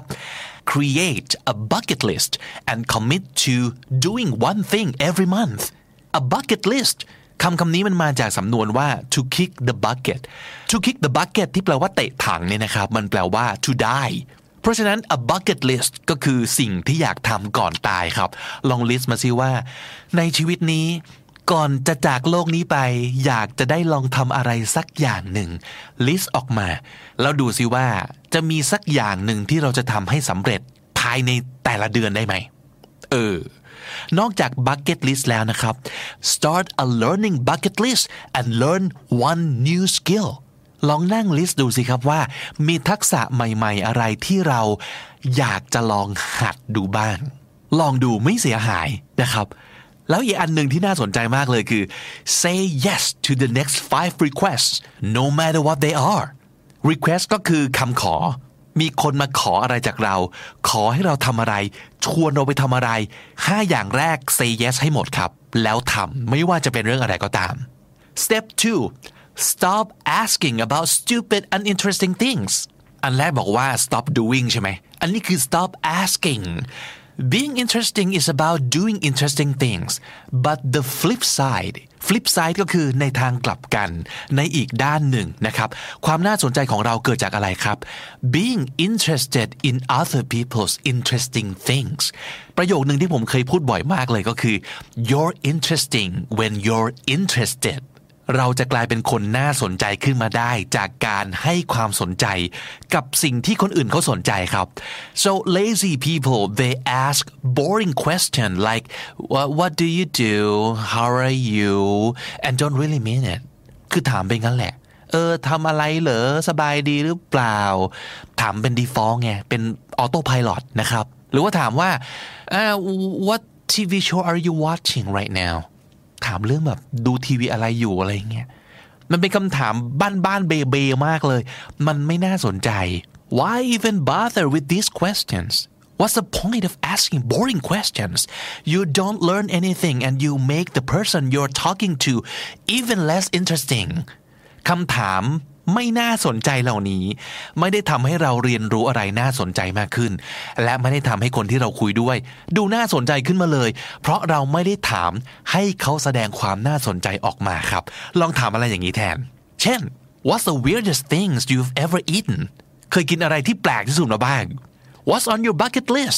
Create a bucket list and commit to doing one thing every month a bucket listคำคำนี้มันมาจากสำนวนว่า to kick the bucket to kick the bucket ที่แปลว่าเตะถังเนี่ยนะครับมันแปลว่า to die เพราะฉะนั้น a bucket list ก็คือสิ่งที่อยากทำก่อนตายครับลอง list มาซิว่าในชีวิตนี้ก่อนจะจากโลกนี้ไปอยากจะได้ลองทำอะไรสักอย่างหนึ่ง list ออกมาแล้วดูซิว่าจะมีสักอย่างหนึ่งที่เราจะทำให้สำเร็จภายในแต่ละเดือนได้ไหมเออนอกจาก bucket list แล้วนะครับ start a learning bucket list and learn one new skill ลองนั่ง list ดูสิครับว่ามีทักษะใหม่ๆอะไรที่เราอยากจะลองหัดดูบ้างลองดูไม่เสียหายนะครับแล้วอีกอันหนึ่งที่น่าสนใจมากเลยคือ say yes to the next five requests no matter what they are request ก็คือคำขอมีคนมาขออะไรจากเราขอให้เราทำอะไรชวนเราไปทำอะไรห้าอย่างแรก say yes ให้หมดครับแล้วทำไม่ว่าจะเป็นเรื่องอะไรก็ตาม step two stop asking about stupid uninteresting things อันแรกบอกว่า stop doing ใช่ไหมอันนี้คือ stop asking Being interesting is about doing interesting things but the flip side flip side ก็คือในทางกลับกันในอีกด้านหนึ่งนะครับความน่าสนใจของเราเกิดจากอะไรครับ Being interested in other people's interesting things ประโยคนึงที่ผมเคยพูดบ่อยมากเลยก็คือ You're interesting when you're interestedเราจะกลายเป็นคนน่าสนใจขึ้นมาได้จากการให้ความสนใจกับสิ่งที่คนอื่นเขาสนใจครับ so lazy people they ask boring question like what, what do you do how are you and don't really mean it คือถามไปงั้นแหละเออทำอะไรเหรอสบายดีหรือเปล่าถามเป็น default ไงเป็น auto pilot นะครับหรือว่าถามว่า uh, what ที วี show are you watching right nowถามเรื่องแบบดูทีวีอะไรอยู่อะไรเงี้ยมันเป็นคำถามบ้านๆเบๆมากเลยมันไม่น่าสนใจ Why even bother with these questions What's the point of asking boring questions You don't learn anything and you make the person you're talking to even less interesting คำถามไม่น่าสนใจเหล่านี้ไม่ได้ทำให้เราเรียนรู้อะไรน่าสนใจมากขึ้นและไม่ได้ทำให้คนที่เราคุยด้วยดูน่าสนใจขึ้นมาเลยเพราะเราไม่ได้ถามให้เขาแสดงความน่าสนใจออกมาครับลองถามอะไรอย่างนี้แทนเช่น What's the weirdest things you've ever eaten เคยกินอะไรที่แปลกที่สุดมาบ้าง What's on your bucket list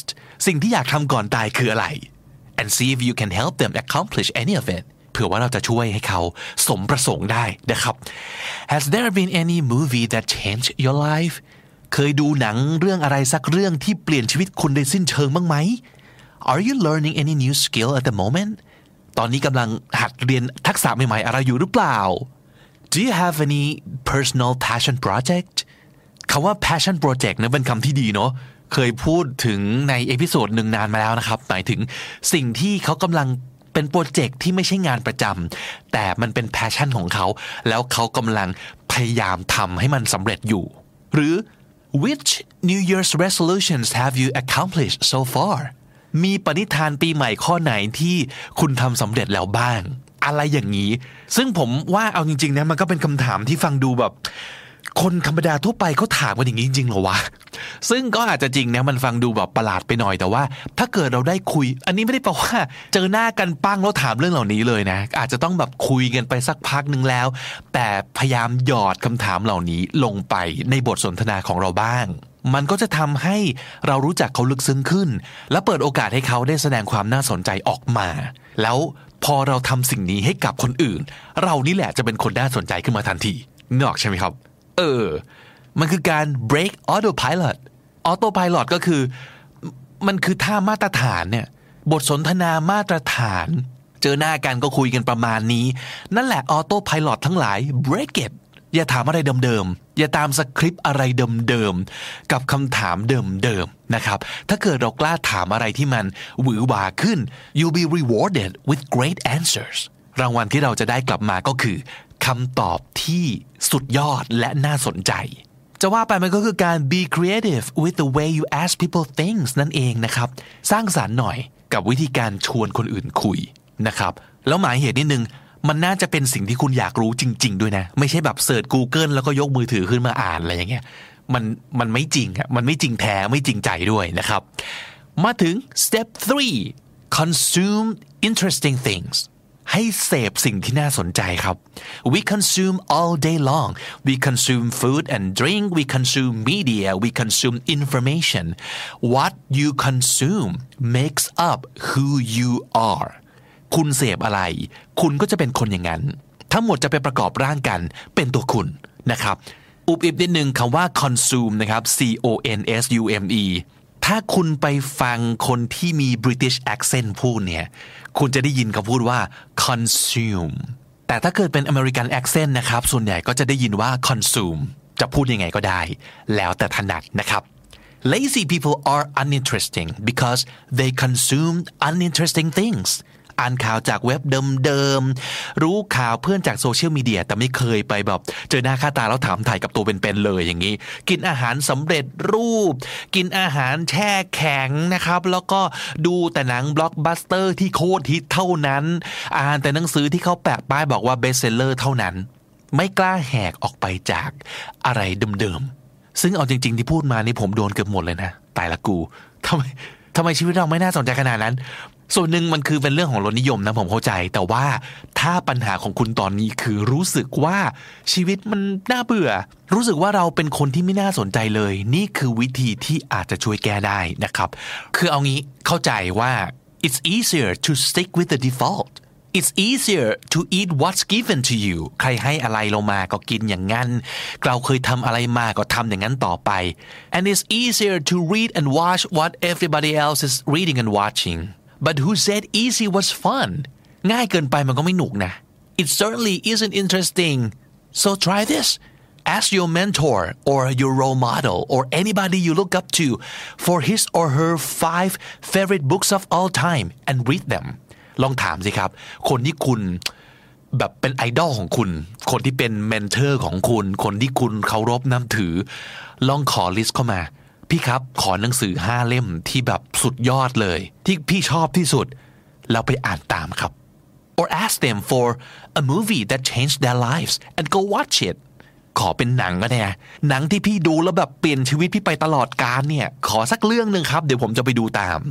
สิ่งที่อยากทำก่อนตายคืออะไร and see if you can help them accomplish any of it เผื่อว่าเราจะช่วยให้เขาสมประสงค์ได้นะครับ Has there been any movie that changed your life เคยดูหนังเรื่องอะไรสักเรื่องที่เปลี่ยนชีวิตคุณโดยสิ้นเชิงบ้างไหม Are you learning any new skill at the moment ตอนนี้กำลังหัดเรียนทักษะใหม่ๆอะไรอยู่หรือเปล่า Do you have any personal passion project คำว่า passion project นั้นเป็นคำที่ดีเนาะเคยพูดถึงในเอพิโซดหนึ่งนานมาแล้วนะครับหมายถึงสิ่งที่เขากำลังเป็นโปรเจกต์ที่ไม่ใช่งานประจำแต่มันเป็น passion ของเขาแล้วเขากำลังพยายามทำให้มันสำเร็จอยู่หรือ Which New Year's resolutions have you accomplished so far มีปณิธานปีใหม่ข้อไหนที่คุณทำสำเร็จแล้วบ้างอะไรอย่างนี้ซึ่งผมว่าเอาจริงๆนะมันก็เป็นคำถามที่ฟังดูแบบคนธรรมดาทั่วไปเขาถามกันอย่างนี้จริงๆเหรอวะซึ่งก็อาจจะจริงนะมันฟังดูแบบประหลาดไปหน่อยแต่ว่าถ้าเกิดเราได้คุยอันนี้ไม่ได้แปลว่าเจอหน้ากันปั้งแล้วถามเรื่องเหล่านี้เลยนะอาจจะต้องแบบคุยกันไปสักพักนึงแล้วแต่พยายามหยอดคำถามเหล่านี้ลงไปในบทสนทนาของเราบ้างมันก็จะทำให้เรารู้จักเขาลึกซึ้งขึ้นและเปิดโอกาสให้เขาได้แสดงความน่าสนใจออกมาแล้วพอเราทำสิ่งนี้ให้กับคนอื่นเรานี่แหละจะเป็นคนน่าสนใจขึ้นมาทันทีนึกออกใช่ไหมครับเออมันคือการ break autopilot autopilot ก็คือมันคือท่ามาตรฐานเนี่ยบทสนทนามาตรฐานเจอหน้ากันก็คุยกันประมาณนี้นั่นแหละ autopilot ทั้งหลาย break it อย่าถามอะไรเดิมๆอย่าตามสคริปต์อะไรเดิมๆกับคำถามเดิมๆนะครับถ้าเกิดเรากล้าถามอะไรที่มันหวือหวาขึ้น you'll be rewarded with great answers รางวัลที่เราจะได้กลับมาก็คือคำตอบที่สุดยอดและน่าสนใจจะว่าไปมันก็คือการ be creative with the way you ask people things นั่นเองนะครับสร้างสรรค์หน่อยกับวิธีการชวนคนอื่นคุยนะครับแล้วหมายเหตุนิดนึงมันน่าจะเป็นสิ่งที่คุณอยากรู้จริงๆด้วยนะไม่ใช่แบบเสิร์ช Google แล้วก็ยกมือถือขึ้นมาอ่านอะไรอย่างเงี้ยมันมันไม่จริงอ่ะมันไม่จริงแท้ไม่จริงใจด้วยนะครับมาถึง step three consume interesting thingsให้เสพสิ่งที่น่าสนใจครับ we consume all day long we consume food and drink we consume media we consume information what you consume makes up who you are คุณเสพอะไรคุณก็จะเป็นคนอย่างนั้นทั้งหมดจะไปประกอบร่างกันเป็นตัวคุณนะครับอุบอิบนิดนึงคำว่า consume นะครับ c o n s u m eถ้าคุณไปฟังคนที่มี British accent พูดเนี่ยคุณจะได้ยินเขาพูดว่า consume แต่ถ้าเกิดเป็น American accent นะครับส่วนใหญ่ก็จะได้ยินว่า consume จะพูดยังไงก็ได้แล้วแต่ถนัดนะครับ Lazy people are uninteresting because they consume uninteresting things อ่านข่าวจากเว็บเดิมๆรู้ข่าวเพื่อนจากโซเชียลมีเดียแต่ไม่เคยไปแบบเจอหน้าค่าตาแล้วถามถ่ายกับตัวเป็นๆเลยอย่างนี้กินอาหารสำเร็จรูปกินอาหารแช่แข็งนะครับแล้วก็ดูแต่หนังบล็อกบัสเตอร์ที่โคตรฮิตเท่านั้นอ่านแต่หนังสือที่เขาแปะป้ายบอกว่าเบสเซลเลอร์เท่านั้นไม่กล้าแหกออกไปจากอะไรเดิมๆซึ่งเอาจริงๆที่พูดมานี่ผมโดนเกือบหมดเลยนะตายละกูทำไมทำไมชีวิตเราไม่น่าสนใจขนาดนั้นส่วนหนึ่งมันคือเป็นเรื่องของรสนิยมนะผมเข้าใจแต่ว่าถ้าปัญหาของคุณตอนนี้คือรู้สึกว่าชีวิตมันน่าเบื่อรู้สึกว่าเราเป็นคนที่ไม่น่าสนใจเลยนี่คือวิธีที่อาจจะช่วยแก้ได้นะครับคือเอางี้เข้าใจว่า it's easier to stick with the default it's easier to eat what's given to you ใครให้อะไรเรามาก็กินอย่างนั้นเราเคยทำอะไรมาก็ทำอย่างนั้นต่อไป and it's easier to read and watch what everybody else is reading and watching but who said easy was fun ง่ายเกินไปมันก็ไม่หนุกนะ it certainly isn't interesting so try this ask your mentor or your role model or anybody you look up to for his or her five favorite books of all time and read them ลองถามสิครับคนที่คุณแบบเป็นไอดอลของคุณคนที่เป็นเมนเทอร์ของคุณคนที่คุณเคารพนับถือลองขอลิสต์เข้ามาพี่ครับขอหนังสือห้าเล่มที่แบบสุดยอดเลยที่พี่ชอบที่สุดแล้วไปอ่านตามครับ or ask them for a movie that changed their lives and go watch it ขอเป็นหนังก็ได้นะหนังที่พี่ดูแล้วแบบเปลี่ยนชีวิตพี่ไปตลอดกาลเนี่ยขอสักเรื่องนึงครับเดี๋ยวผมจะไปดูตาม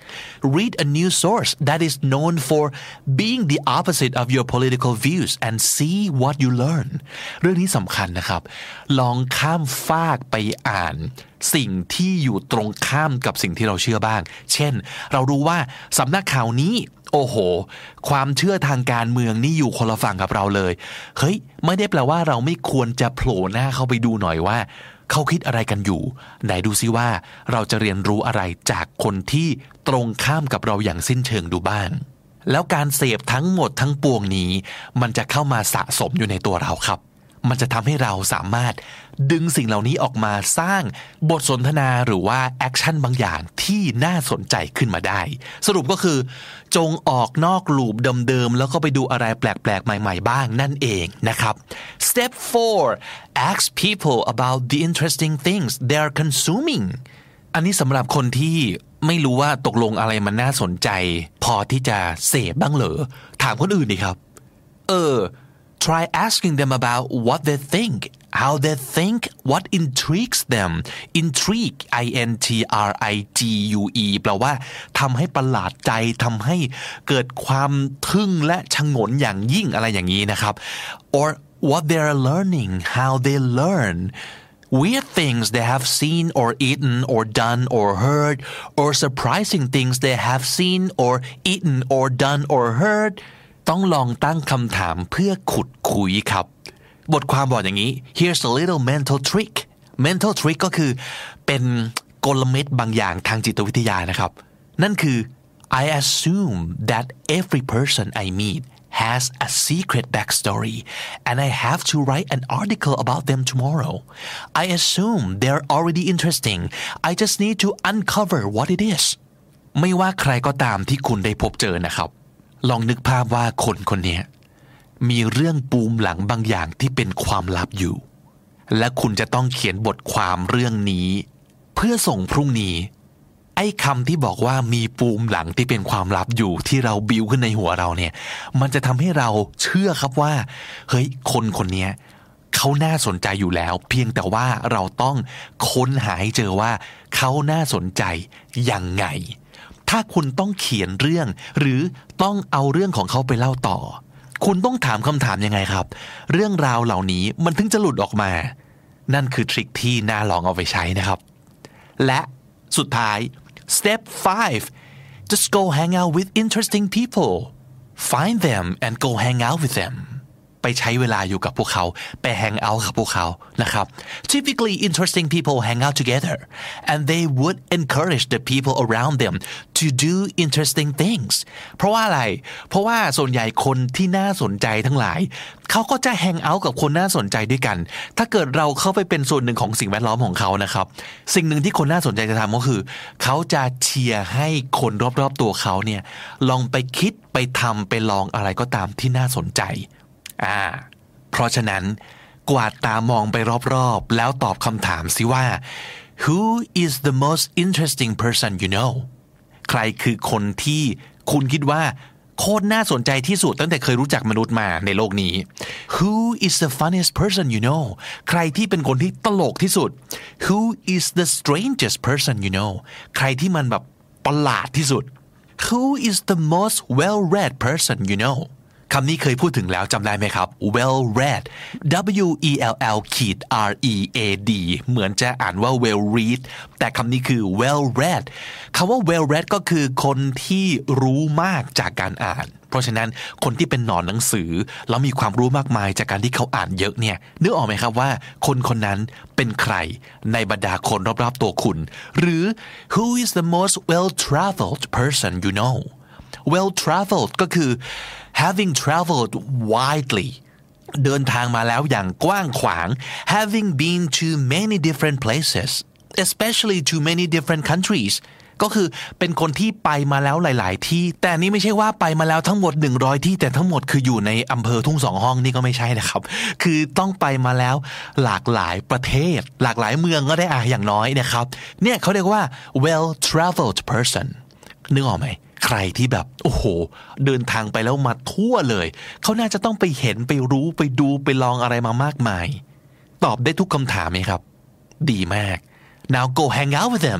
Read a news source that is known for being the opposite of your political views and see what you learn เรื่องนี้สำคัญนะครับลองข้ามฟากไปอ่านสิ่งที่อยู่ตรงข้ามกับสิ่งที่เราเชื่อบ้างเช่นเรารู้ว่าสำนักข่าวนี้โอ้โหความเชื่อทางการเมืองนี่อยู่คนละฝั่งกับเราเลยเฮ้ยไม่ได้แปลว่าเราไม่ควรจะโผล่หน้าเข้าไปดูหน่อยว่าเขาคิดอะไรกันอยู่ไหนดูซิว่าเราจะเรียนรู้อะไรจากคนที่ตรงข้ามกับเราอย่างสิ้นเชิงดูบ้างแล้วการเสพทั้งหมดทั้งปวงนี้มันจะเข้ามาสะสมอยู่ในตัวเราครับมันจะทำให้เราสามารถดึงสิ่งเหล่านี้ออกมาสร้างบทสนทนาหรือว่าแอคชั่นบางอย่างที่น่าสนใจขึ้นมาได้สรุปก็คือจงออกนอกลูปเดิมๆแล้วก็ไปดูอะไรแปลกๆใหม่ๆบ้างนั่นเองนะครับ Step four Ask people about the interesting things they are consuming อันนี้สำหรับคนที่ไม่รู้ว่าตกลงอะไรมันน่าสนใจพอที่จะเสพบ้างเหรอถามคนอื่นดิครับเออTry asking them about what they think, how they think, what intrigues them. Intrigue, I N T R I G U E แปลว่าทำให้ประหลาดใจทำให้เกิดความทึ่งและชงนอย่างยิ่งอะไรอย่างนี้นะครับ Or what they are learning, how they learn. Weird things they have seen or eaten or done or heard, or surprising things they have seen or eaten or done or heard.ต้องลองตั้งคำถามเพื่อขุดคุยครับบทความบอกอย่างนี้ Here's a little mental trick mental trick ก็คือเป็นกลเม็ดบางอย่างทางจิตวิทยานะครับนั่นคือ I assume that every person I meet has a secret backstory and I have to write an article about them tomorrow I assume they're already interesting I just need to uncover what it is ไม่ว่าใครก็ตามที่คุณได้พบเจอนะครับลองนึกภาพว่าคนคนนี้มีเรื่องปูมหลังบางอย่างที่เป็นความลับอยู่และคุณจะต้องเขียนบทความเรื่องนี้เพื่อส่งพรุ่งนี้ไอ้คำที่บอกว่ามีปูมหลังที่เป็นความลับอยู่ที่เราบิวขึ้นในหัวเราเนี่ยมันจะทำให้เราเชื่อครับว่าเฮ้ยคนคนนี้เขาน่าสนใจอยู่แล้วเพียงแต่ว่าเราต้องค้นหาให้เจอว่าเขาน่าสนใจยังไงถ้าคุณต้องเขียนเรื่องหรือต้องเอาเรื่องของเขาไปเล่าต่อคุณต้องถามคำถามยังไงครับเรื่องราวเหล่านี้มันถึงจะหลุดออกมานั่นคือทริคที่น่าลองเอาไปใช้นะครับและสุดท้าย step five just go hang out with interesting people find them and go hang out with themไปใช้เวลาอยู่กับพวกเขาไปแฮงเอาท์กับพวกเขานะครับ Typically interesting people hang out together and they would encourage the people around them to do interesting things เพราะว่าอะไรเพราะว่าส่วนใหญ่คนที่น่าสนใจทั้งหลายเขาก็จะแฮงเอาท์กับคนน่าสนใจด้วยกันถ้าเกิดเราเข้าไปเป็นส่วนหนึ่งของสิ่งแวดล้อมของเขานะครับสิ่งหนึ่งที่คนน่าสนใจจะทำก็คือเขาจะเชียร์ให้คนรอบๆตัวเขาเนี่ยลองไปคิดไปทำไปลองอะไรก็ตามที่น่าสนใจอ่าเพราะฉะนั้นกวาดตามองไปรอบๆแล้วตอบคำถามสิว่า Who is the most interesting person you know ใครคือคนที่คุณคิดว่าโคตรน่าสนใจที่สุดตั้งแต่เคยรู้จักมนุษย์มาในโลกนี้ Who is the funniest person you know ใครที่เป็นคนที่ตลกที่สุด Who is the strangest person you know ใครที่มันแบบประหลาดที่สุด Who is the most well-read person you knowคำนี้เคยพูดถึงแล้วจำได้ไหมครับ well read W E L L R E A D เหมือนจะอ่านว่า well read แต่คำนี้คือ well read คำว่า well read ก็คือคนที่รู้มากจากการอ่านเพราะฉะนั้นคนที่เป็นหนอนหนังสือแล้วมีความรู้มากมายจากการที่เขาอ่านเยอะเนี่ยนึกออกไหมครับว่าคนคนนั้นเป็นใครในบรรดาคนรอบๆตัวคุณหรือ who is the most well traveled person you know well traveled ก็คือ having traveled widely เดินทางมาแล้วอย่างกว้างขวาง having been to many different places especially to many different countries ก็คือเป็นคนที่ไปมาแล้วหลายๆที่แต่นี่ไม่ใช่ว่าไปมาแล้วทั้งหมดหนึ่งร้อยที่แต่ทั้งหมดคืออยู่ในอำเภอทุ่งสองห้องนี่ก็ไม่ใช่นะครับคือต้องไปมาแล้วหลากหลายประเทศหลากหลายเมืองก็ได้อ่ะอย่างน้อยนะครับเนี่ยเขาเรียกว่า well traveled person นึกออกไหมใครที่แบบโอ้โหเดินทางไปแล้วมาทั่วเลยเขาน่าจะต้องไปเห็นไปรู้ไปดูไปลองอะไรมามากมายตอบได้ทุกคำถามไหมครับดีมาก now go hang out with them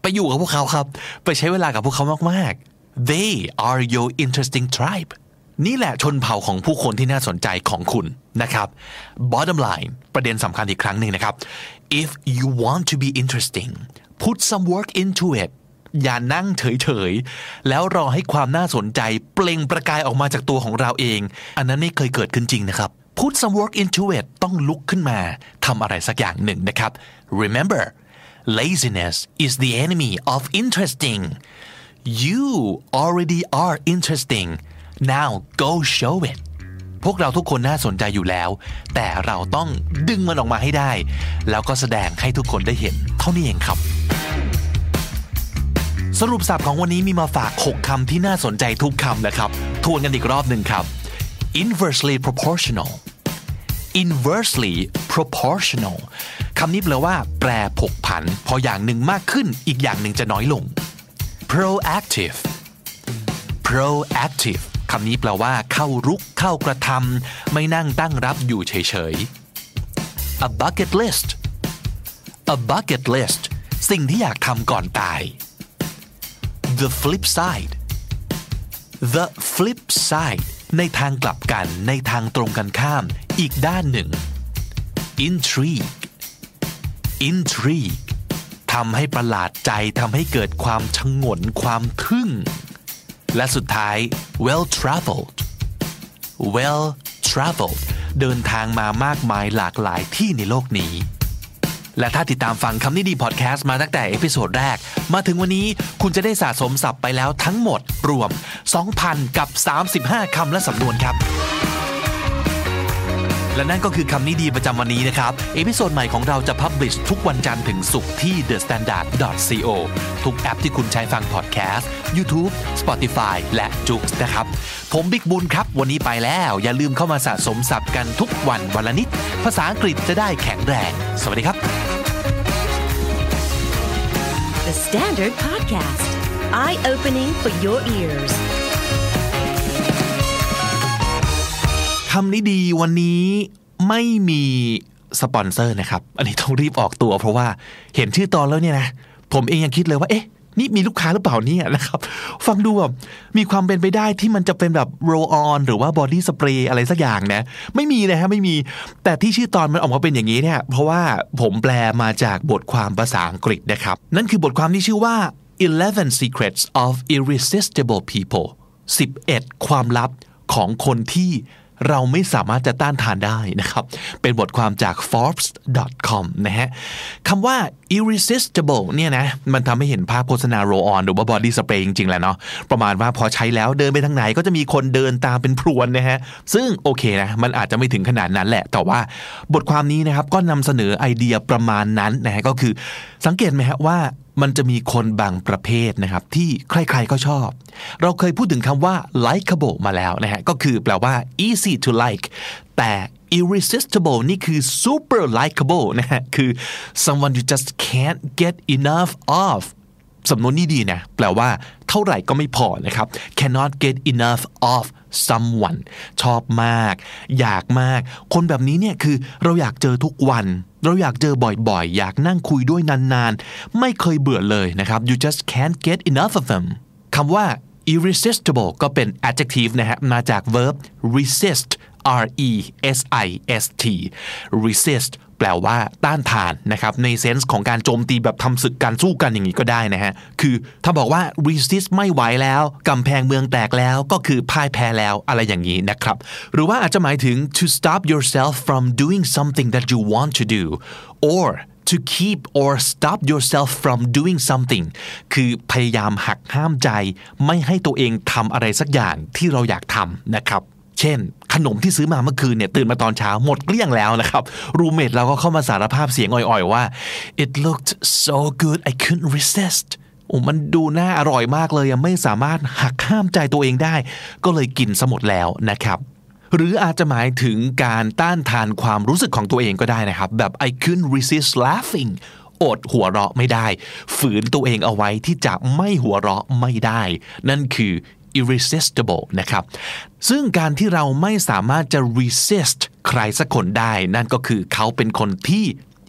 ไปอยู่กับพวกเขาครับไปใช้เวลากับพวกเขามากๆ They are your interesting tribe นี่แหละชนเผ่าของผู้คนที่น่าสนใจของคุณนะครับ Bottom line ประเด็นสำคัญอีกครั้งหนึ่งนะครับ If you want to be interesting put some work into it อย่านั่งเฉยๆแล้วรอให้ความน่าสนใจเปล่งประกายออกมาจากตัวของเราเองอันนั้นไม่เคยเกิดขึ้นจริงนะครับ Put some work into it ต้องลุกขึ้นมาทำอะไรสักอย่างหนึ่งนะครับ Remember laziness is the enemy of interesting you already are interesting now go show it พวกเราทุกคนน่าสนใจอยู่แล้วแต่เราต้องดึงมันออกมาให้ได้แล้วก็แสดงให้ทุกคนได้เห็นเท่านี้เองครับสรุปศัพท์ของวันนี้มีมาฝากหกคำที่น่าสนใจทุกคำนะครับทวนกันอีกรอบหนึ่งครับ inversely proportional inversely proportional คำนี้แปลว่าแปรผกผันพออย่างหนึ่งมากขึ้นอีกอย่างหนึ่งจะน้อยลง proactive proactive คำนี้แปลว่าเข้ารุกเข้ากระทำไม่นั่งตั้งรับอยู่เฉยๆ a bucket list a bucket list สิ่งที่อยากทำก่อนตาย the flip side the flip side ในทางกลับกันในทางตรงกันข้ามอีกด้านหนึ่ง intrigue intrigue ทำให้ประหลาดใจทำให้เกิดความชงนความทึ่งและสุดท้าย well traveled well traveled เดินทางมามากมายหลากหลายที่ในโลกนี้และถ้าติดตามฟังคำนี้ดีพอดแคสต์มาตั้งแต่เอพิโซดแรกมาถึงวันนี้คุณจะได้สะสมศัพท์ไปแล้วทั้งหมดรวม สองพัน กับสามสิบห้าคำและสำนวนครับและนั่นก็คือคำนี้ดีประจำวันนี้นะครับเอพิโซดใหม่ของเราจะพับลิชทุกวันจันทร์ถึงศุกร์ที่ เดอะ สแตนดาร์ด ดอท ซี โอ ทุกแอปที่คุณใช้ฟังพอดแคสต์ YouTube Spotify และ Joox นะครับผมบิ๊กบุญครับวันนี้ไปแล้วอย่าลืมเข้ามาสะสมศัพท์กันทุกวันวันละนิดภาษาอังกฤษจะได้แข็งแรงสวัสดีครับ The Standard Podcast Eye Opening for Your Ears คำนี้ดีวันนี้ไม่มีสปอนเซอร์นะครับอันนี้ต้องรีบออกตัวเพราะว่าเห็นชื่อตอนแล้วเนี่ยนะผมเองยังคิดเลยว่าเอ๊ะนี่มีลูกค้าหรือเปล่าเนี่ยนะครับฟังดูแบบมีความเป็นไปได้ที่มันจะเป็นแบบ roll on หรือว่า body spray อะไรสักอย่างนะไม่มีนะฮะไม่มีแต่ที่ชื่อตอนมันออกมาเป็นอย่างนี้เนี่ยเพราะว่าผมแปลมาจากบทความภาษาอังกฤษนะครับนั่นคือบทความที่ชื่อว่า eleven secrets of irresistible people สิบเอ็ดความลับของคนที่เราไม่สามารถจะต้านทานได้นะครับเป็นบทความจาก forbes ดอท คอม นะฮะคำว่า irresistible เนี่ยนะมันทำให้เห็นภาพโฆษณา roll on หรือว่า body spray จริงๆแหละเนาะประมาณว่าพอใช้แล้วเดินไปทางไหนก็จะมีคนเดินตามเป็นพรวนนะฮะซึ่งโอเคนะมันอาจจะไม่ถึงขนาดนั้นแหละแต่ว่าบทความนี้นะครับก็นำเสนอไอเดียประมาณนั้นนะฮะก็คือสังเกตไหมฮะว่ามันจะมีคนบางประเภทนะครับที่ใครๆก็ชอบเราเคยพูดถึงคำว่า likable มาแล้วนะฮะก็คือแปลว่า easy to like แต่ irresistible นี่คือ super likable นะฮะคือ someone you just can't get enough of สำนวนนี้ดีนะแปลว่าเท่าไหร่ก็ไม่พอนะครับ cannot get enough of someone ชอบมากอยากมากคนแบบนี้เนี่ยคือเราอยากเจอทุกวันเราอยากเจอบ่อยๆอยากนั่งคุยด้วยนานๆไม่เคยเบื่อเลยนะครับ you just can't get enough of them คำว่า irresistible ก็เป็น adjective นะฮะมาจาก verb resist R E S I S T resist แปลว่าต้านทานนะครับในเซนส์ของการโจมตีแบบทำศึกการสู้กันอย่างนี้ก็ได้นะฮะคือถ้าบอกว่า resist ไม่ไหวแล้วกำแพงเมืองแตกแล้วก็คือพ่ายแพ้แล้วอะไรอย่างนี้นะครับหรือว่าอาจจะหมายถึง to stop yourself from doing something that you want to do or to keep or stop yourself from doing something คือพยายามหักห้ามใจไม่ให้ตัวเองทำอะไรสักอย่างที่เราอยากทำนะครับเช่นขนมที่ซื้อมาเมื่อคืนเนี่ยตื่นมาตอนเช้าหมดเกลี้ยงแล้วนะครับรูมเมทเราก็เข้ามาสารภาพเสียงอ่อยๆว่า it looked so good I couldn't resist โอ้มันดูน่าอร่อยมากเลยยังไม่สามารถหักห้ามใจตัวเองได้ก็เลยกินซะหมดแล้วนะครับหรืออาจจะหมายถึงการต้านทานความรู้สึกของตัวเองก็ได้นะครับแบบ I couldn't resist laughing อดหัวเราะไม่ได้ฝืนตัวเองเอาไว้ที่จะไม่หัวเราะไม่ได้นั่นคือirresistible นะครับซึ่งการที่เราไม่สามารถจะ resist ใครสักคนได้นั่นก็คือเขาเป็นคนที่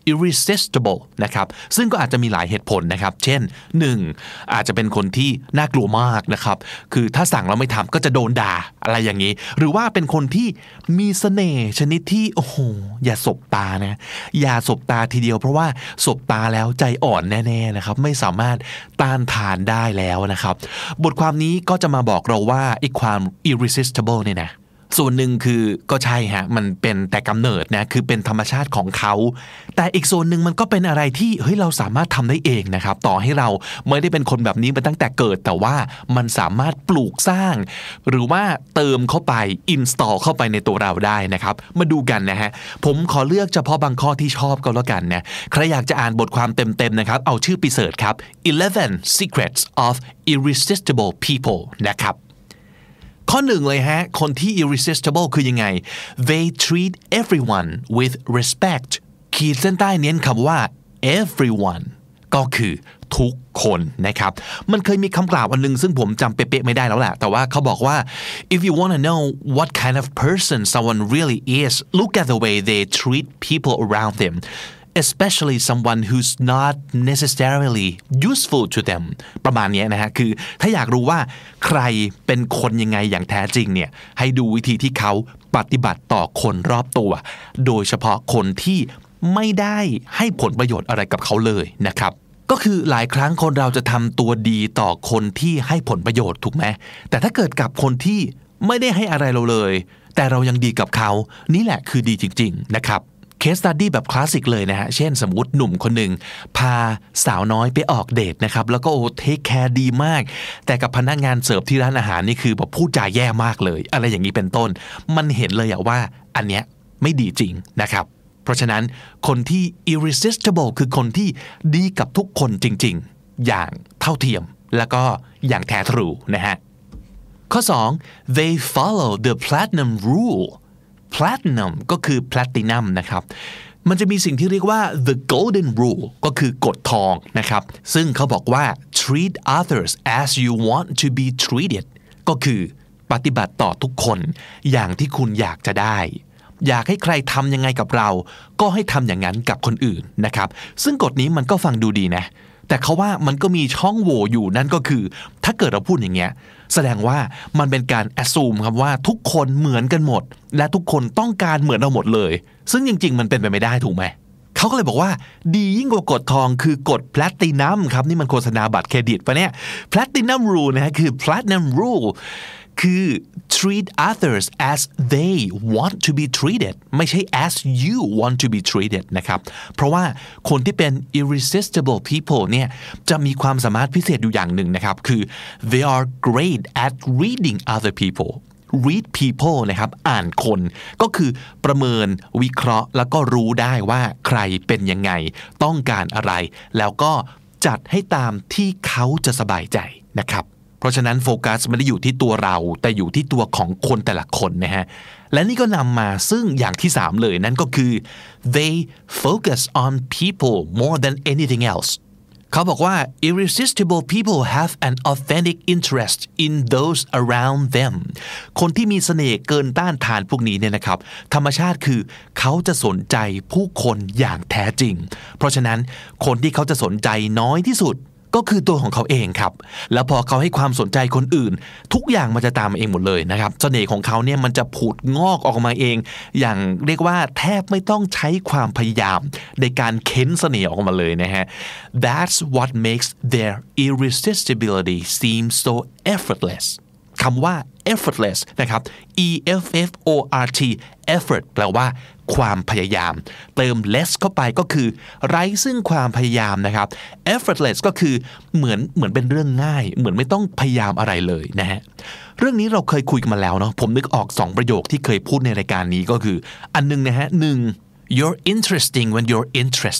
irresistible นะครับซึ่งก็อาจจะมีหลายเหตุผลนะครับเช่นหนึ่งอาจจะเป็นคนที่น่ากลัวมากนะครับคือถ้าสั่งแล้วไม่ทำก็จะโดนด่าอะไรอย่างนี้หรือว่าเป็นคนที่มีเสน่ห์ชนิดที่โอ้โหอย่าสบตานะอย่าสบตาทีเดียวเพราะว่าสบตาแล้วใจอ่อนแน่ๆนะครับไม่สามารถต้านทานได้แล้วนะครับบทความนี้ก็จะมาบอกเราว่าไอ้ความ irresistible เนี่ยนะส่วนหนึ่งคือก็ใช่ฮะมันเป็นแต่กำเนิดนะคือเป็นธรรมชาติของเขาแต่อีกส่วนหนึ่งมันก็เป็นอะไรที่เฮ้ยเราสามารถทำได้เองนะครับต่อให้เราไม่ได้เป็นคนแบบนี้มาตั้งแต่เกิดแต่ว่ามันสามารถปลูกสร้างหรือว่าเติมเข้าไป install เข้าไปในตัวเราได้นะครับมาดูกันนะฮะผมขอเลือกเฉพาะบางข้อที่ชอบก็แล้วกันนะใครอยากจะอ่านบทความเต็มๆนะครับเอาชื่อไปเสิร์ชครับ eleven secrets of irresistible people นะครับข้อหนึ่งเลยฮะคนที่ irresistible คือยังไง they treat everyone with respect ขีดเส้นใต้เน้นคำว่า everyone ก็คือทุกคนนะครับมันเคยมีคำกล่าวอันนึงซึ่งผมจำเป๊ะๆไม่ได้แล้วแหละแต่ว่าเขาบอกว่า if you want to know what kind of person someone really is look at the way they treat people around them especially someone who's not necessarily useful to them ประมาณนี้นะฮะคือถ้าอยากรู้ว่าใครเป็นคนยังไงอย่างแท้จริงเนี่ยให้ดูวิธีที่เขาปฏิบัติต่อคนรอบตัวโดยเฉพาะคนที่ไม่ได้ให้ผลประโยชน์อะไรกับเขาเลยนะครับก็คือหลายครั้งคนเราจะทำตัวดีต่อคนที่ให้ผลประโยชน์ถูกไหมแต่ถ้าเกิดกับคนที่ไม่ได้ให้อะไรเราเลยแต่เรายังดีกับเขานี่แหละคือดีจริงๆนะครับเคสสตัดดี้แบบคลาสสิกเลยนะฮะเช่นสมมุติหนุ่มคนหนึ่งพาสาวน้อยไปออกเดทนะครับแล้วก็โอ้เทคแคร์ดีมากแต่กับพนักงานเสิร์ฟที่ร้านอาหารนี่คือแบบพูดจาแย่มากเลยอะไรอย่างนี้เป็นต้นมันเห็นเลยอะว่าอันเนี้ยไม่ดีจริงนะครับเพราะฉะนั้นคนที่ irresistible คือคนที่ดีกับทุกคนจริงๆอย่างเท่าเทียมแล้วก็อย่างแท้ทรูนะฮะข้อสอง they follow the platinum rule platinum ก็คือ platinum นะครับมันจะมีสิ่งที่เรียกว่า the golden rule ก็คือกฎทองนะครับซึ่งเขาบอกว่า treat others as you want to be treated ก็คือปฏิบัติต่อทุกคนอย่างที่คุณอยากจะได้อยากให้ใครทำยังไงกับเราก็ให้ทำอย่างนั้นกับคนอื่นนะครับซึ่งกฎนี้มันก็ฟังดูดีนะแต่เขาว่ามันก็มีช่องโหว่อยู่นั่นก็คือถ้าเกิดเราพูดอย่างเงี้ยแสดงว่ามันเป็นการ assume ครับว่าทุกคนเหมือนกันหมดและทุกคนต้องการเหมือนเราหมดเลยซึ่งจริงๆมันเป็นไปไม่ได้ถูกไหมเขาก็เลยบอกว่าดียิ่งกว่ากฎทองคือกฎ platinum ครับนี่มันโฆษณาบัตรเครดิตปะเนี่ย platinum rule นะฮะคือ platinum rule คือ treat others as they want to be treated ไม่ใช่ as you want to be treated นะครับเพราะว่าคนที่เป็น irresistible people เนี่ยจะมีความสามารถพิเศษอยู่อย่างหนึ่งนะครับคือ they are great at reading other people read people นะครับอ่านคนก็คือประเมินวิเคราะห์แล้วก็รู้ได้ว่าใครเป็นยังไงต้องการอะไรแล้วก็จัดให้ตามที่เขาจะสบายใจนะครับเพราะฉะนั้นโฟกัสไม่ได้อยู่ที่ตัวเราแต่อยู่ที่ตัวของคนแต่ละคนนะฮะและนี่ก็นำมาซึ่งอย่างที่สามเลยนั่นก็คือ they focus on people more than anything else เขาบอกว่า irresistible people have an authentic interest in those around them คนที่มีเสน่ห์เกินต้านทานพวกนี้เนี่ยนะครับธรรมชาติคือเขาจะสนใจผู้คนอย่างแท้จริงเพราะฉะนั้นคนที่เขาจะสนใจน้อยที่สุดก็คือตัวของเขาเองครับแล้วพอเขาให้ความสนใจคนอื่นทุกอย่างมันจะตามมาเองหมดเลยนะครับเสน่ห์ของเขาเนี่ยมันจะผุดงอกออกมาเองอย่างเรียกว่าแทบไม่ต้องใช้ความพยายามในการเค้นเสน่ห์ออกมาเลยนะฮะ That's what makes their irresistibility seem so effortless คำว่า effortless นะครับ e f f o r t effort แปลว่าความพยายามเติม less เข้าไปก็คือไร้ซึ่งความพยายามนะครับ effortless ก็คือเหมือนเหมือนเป็นเรื่องง่ายเหมือนไม่ต้องพยายามอะไรเลยนะฮะเรื่องนี้เราเคยคุยกันมาแล้วเนาะผมนึกออกสองประโยคที่เคยพูดในรายการนี้ก็คืออันนึงนะฮะหนึ่ง you're interesting when you're interested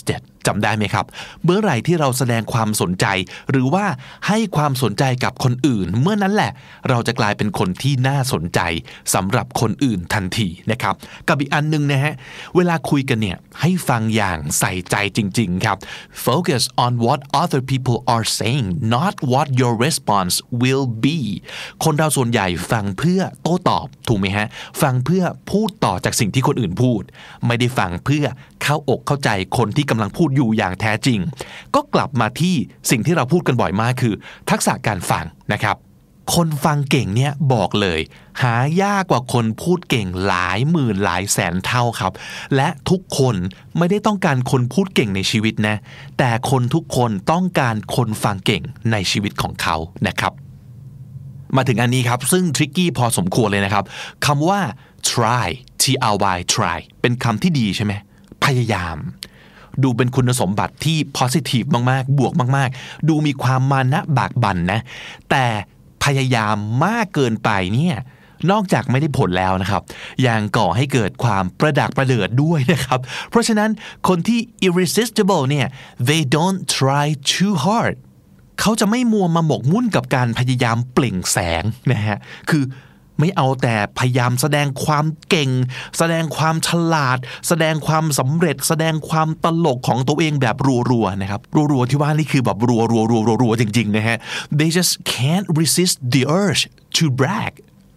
จำได้ไหมครับเมื่อไหร่ที่เราแสดงความสนใจหรือว่าให้ความสนใจกับคนอื่นเมื่อนั้นแหละเราจะกลายเป็นคนที่น่าสนใจสำหรับคนอื่นทันทีนะครับกับอีกอันนึงนะฮะเวลาคุยกันเนี่ยให้ฟังอย่างใส่ใจจริงๆครับ Focus on what other people are saying not what your response will be คนเราส่วนใหญ่ฟังเพื่อโต้ตอบถูกไหมฮะฟังเพื่อพูดต่อจากสิ่งที่คนอื่นพูดไม่ได้ฟังเพื่อเข้าอกเข้าใจคนที่กำลังพูดอยู่อย่างแท้จริงก็กลับมาที่สิ่งที่เราพูดกันบ่อยมากคือทักษะการฟังนะครับคนฟังเก่งเนี่ยบอกเลยหายากกว่าคนพูดเก่งหลายหมื่นหลายแสนเท่าครับและทุกคนไม่ได้ต้องการคนพูดเก่งในชีวิตนะแต่คนทุกคนต้องการคนฟังเก่งในชีวิตของเขานะครับมาถึงอันนี้ครับซึ่งทริกกี้พอสมควรเลยนะครับคำว่า try t r y try เป็นคำที่ดีใช่ไหมพยายามดูเป็นคุณสมบัติที่ positive มากๆบวกมากๆดูมีความมานะบากบั่นนะแต่พยายามมากเกินไปเนี่ยนอกจากไม่ได้ผลแล้วนะครับยังก่อให้เกิดความประดักประเดิดด้วยนะครับเพราะฉะนั้นคนที่ irresistible เนี่ย they don't try too hard เขาจะไม่มัวมาหมกมุ่นกับการพยายามเปล่งแสงนะฮะคือไม่เอาแต่พยายามแสดงความเก่งแสดงความฉลาดแสดงความสำเร็จแสดงความตลกของตัวเองแบบรัวๆนะครับรัวๆที่ว่านี่คือแบบรัวๆรัวๆจริงๆนะฮะ they just can't resist the urge to brag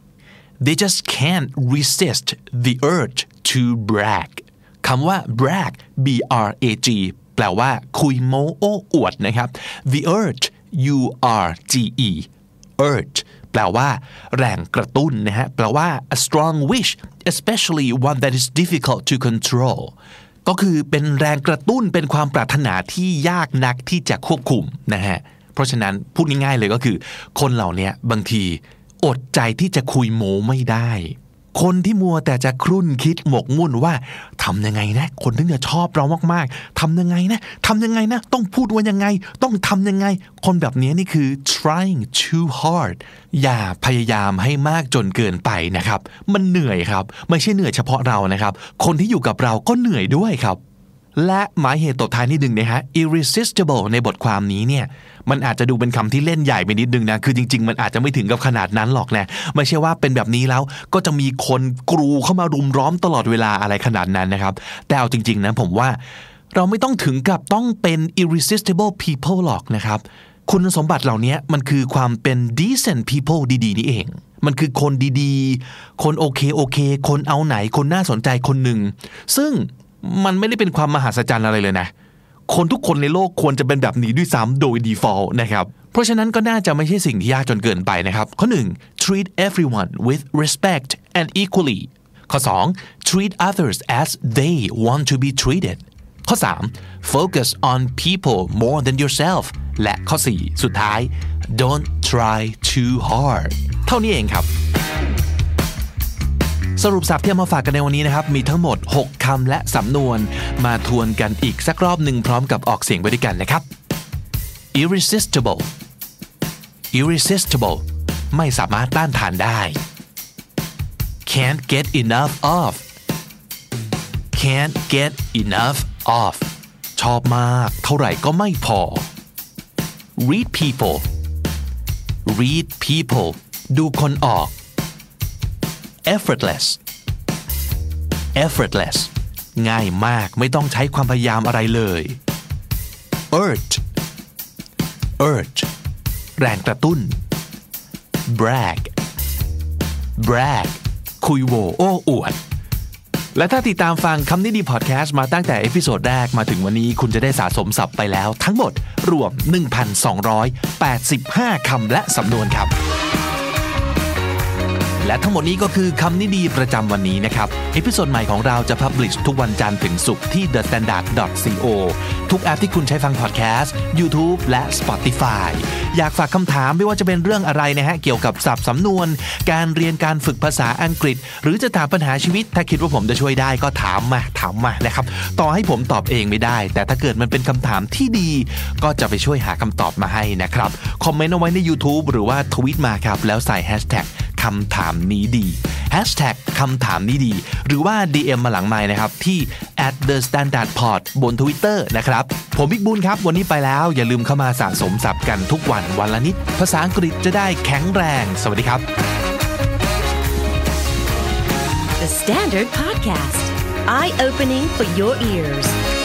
they just can't resist the urge to brag คำว่า brag b r a g แปลว่าคุยโม้โอ้อวดนะครับ the urge u r g e urgeแปลว่าแรงกระตุ้นนะฮะแปลว่า a strong wish especially one that is difficult to control ก็คือเป็นแรงกระตุ้นเป็นความปรารถนาที่ยากนักที่จะควบคุมนะฮะเพราะฉะนั้นพูดง่ายๆเลยก็คือคนเหล่านี้บางทีอดใจที่จะคุยโม้ไม่ได้คนที่มัวแต่จะครุ่นคิดหมกมุ่นว่าทำยังไงนะคนถึงจะชอบเรามากๆทำยังไงนะทำยังไงนะต้องพูดว่ายังไงต้องทำยังไงคนแบบนี้นี่คือ trying too hard อย่าพยายามให้มากจนเกินไปนะครับมันเหนื่อยครับไม่ใช่เหนื่อยเฉพาะเรานะครับคนที่อยู่กับเราก็เหนื่อยด้วยครับและหมายเหตุตบท้ายนิดนึงนะฮะ irresistible ในบทความนี้เนี่ยมันอาจจะดูเป็นคำที่เล่นใหญ่ไปนิดนึงนะคือจริงๆมันอาจจะไม่ถึงกับขนาดนั้นหรอกนะไม่ใช่ว่าเป็นแบบนี้แล้วก็จะมีคนกรูเข้ามารุมล้อมตลอดเวลาอะไรขนาดนั้นนะครับแต่เอาจริงๆนะผมว่าเราไม่ต้องถึงกับต้องเป็น irresistible people หรอกนะครับคุณสมบัติเหล่านี้มันคือความเป็น decent people ดีๆนี่เองมันคือคนดีๆคนโอเคโอเคคนเอาไหนคนน่าสนใจคนหนึ่งซึ่งมันไม่ได้เป็นความมหัศจรรย์อะไรเลยนะคนทุกคนในโลกควรจะเป็นแบบนี้ด้วยซ้ำโดย default นะครับเพราะฉะนั้นก็น่าจะไม่ใช่สิ่งที่ยากจนเกินไปนะครับข้อหนึ่ง treat everyone with respect and equally ข้อสอง treat others as they want to be treated ข้อสาม focus on people more than yourself และข้อสี่สุดท้าย don't try too hard เท่านี้เองครับสรุปศัพท์ที่มาฝากกันในวันนี้นะครับมีทั้งหมดหกคำและสำนวนมาทวนกันอีกสักรอบหนึ่งพร้อมกับออกเสียงไปด้วยกันนะครับ irresistible irresistible ไม่สามารถต้านทานได้ can't get enough of can't get enough of ชอบมากเท่าไหร่ก็ไม่พอ read people read people ดูคนออกeffortless effortless ง่ายมากไม่ต้องใช้ความพยายามอะไรเลย urge urge แรงกระตุ้น brag brag คุยโวโอ้อวดและถ้าติดตามฟังคำนี้ดีพอดแคสต์มาตั้งแต่เอพิโซดแรกมาถึงวันนี้คุณจะได้สะสมศัพท์ไปแล้วทั้งหมดรวม หนึ่งพันสองร้อยแปดสิบห้า คำและสำนวนครับและทั้งหมดนี้ก็คือคำนี้ดีประจำวันนี้นะครับเอพิโซดใหม่ของเราจะพับลิชทุกวันจันทร์ถึงศุกร์ที่ the standard dot co ทุกแอปที่คุณใช้ฟังพอดแคสต์ YouTube และ Spotify อยากฝากคำถามไม่ว่าจะเป็นเรื่องอะไรนะฮะเกี่ยวกับศัพท์สำนวนการเรียนการฝึกภาษาอังกฤษหรือจะถามปัญหาชีวิตถ้าคิดว่าผมจะช่วยได้ก็ถามมาถามมานะครับต่อให้ผมตอบเองไม่ได้แต่ถ้าเกิดมันเป็นคำถามที่ดีก็จะไปช่วยหาคำตอบมาให้นะครับคอมเมนต์เอาไว้ใน YouTube หรือว่าทวีตมาครับแล้วใส่แฮชแท็กคำถามนี้ดีแฮชแท็กคำถามนี้ดีหรือว่า ดี เอ็ม มาหลังไมค์นะครับที่ แอท เดอะ สแตนดาร์ด พอด บน Twitter นะครับผมบิ๊กบุญครับวันนี้ไปแล้วอย่าลืมเข้ามาสะสมศัพท์กันทุกวันวันละนิดภาษาอังกฤษจะได้แข็งแรงสวัสดีครับ The Standard Podcast Eye Opening for Your Ears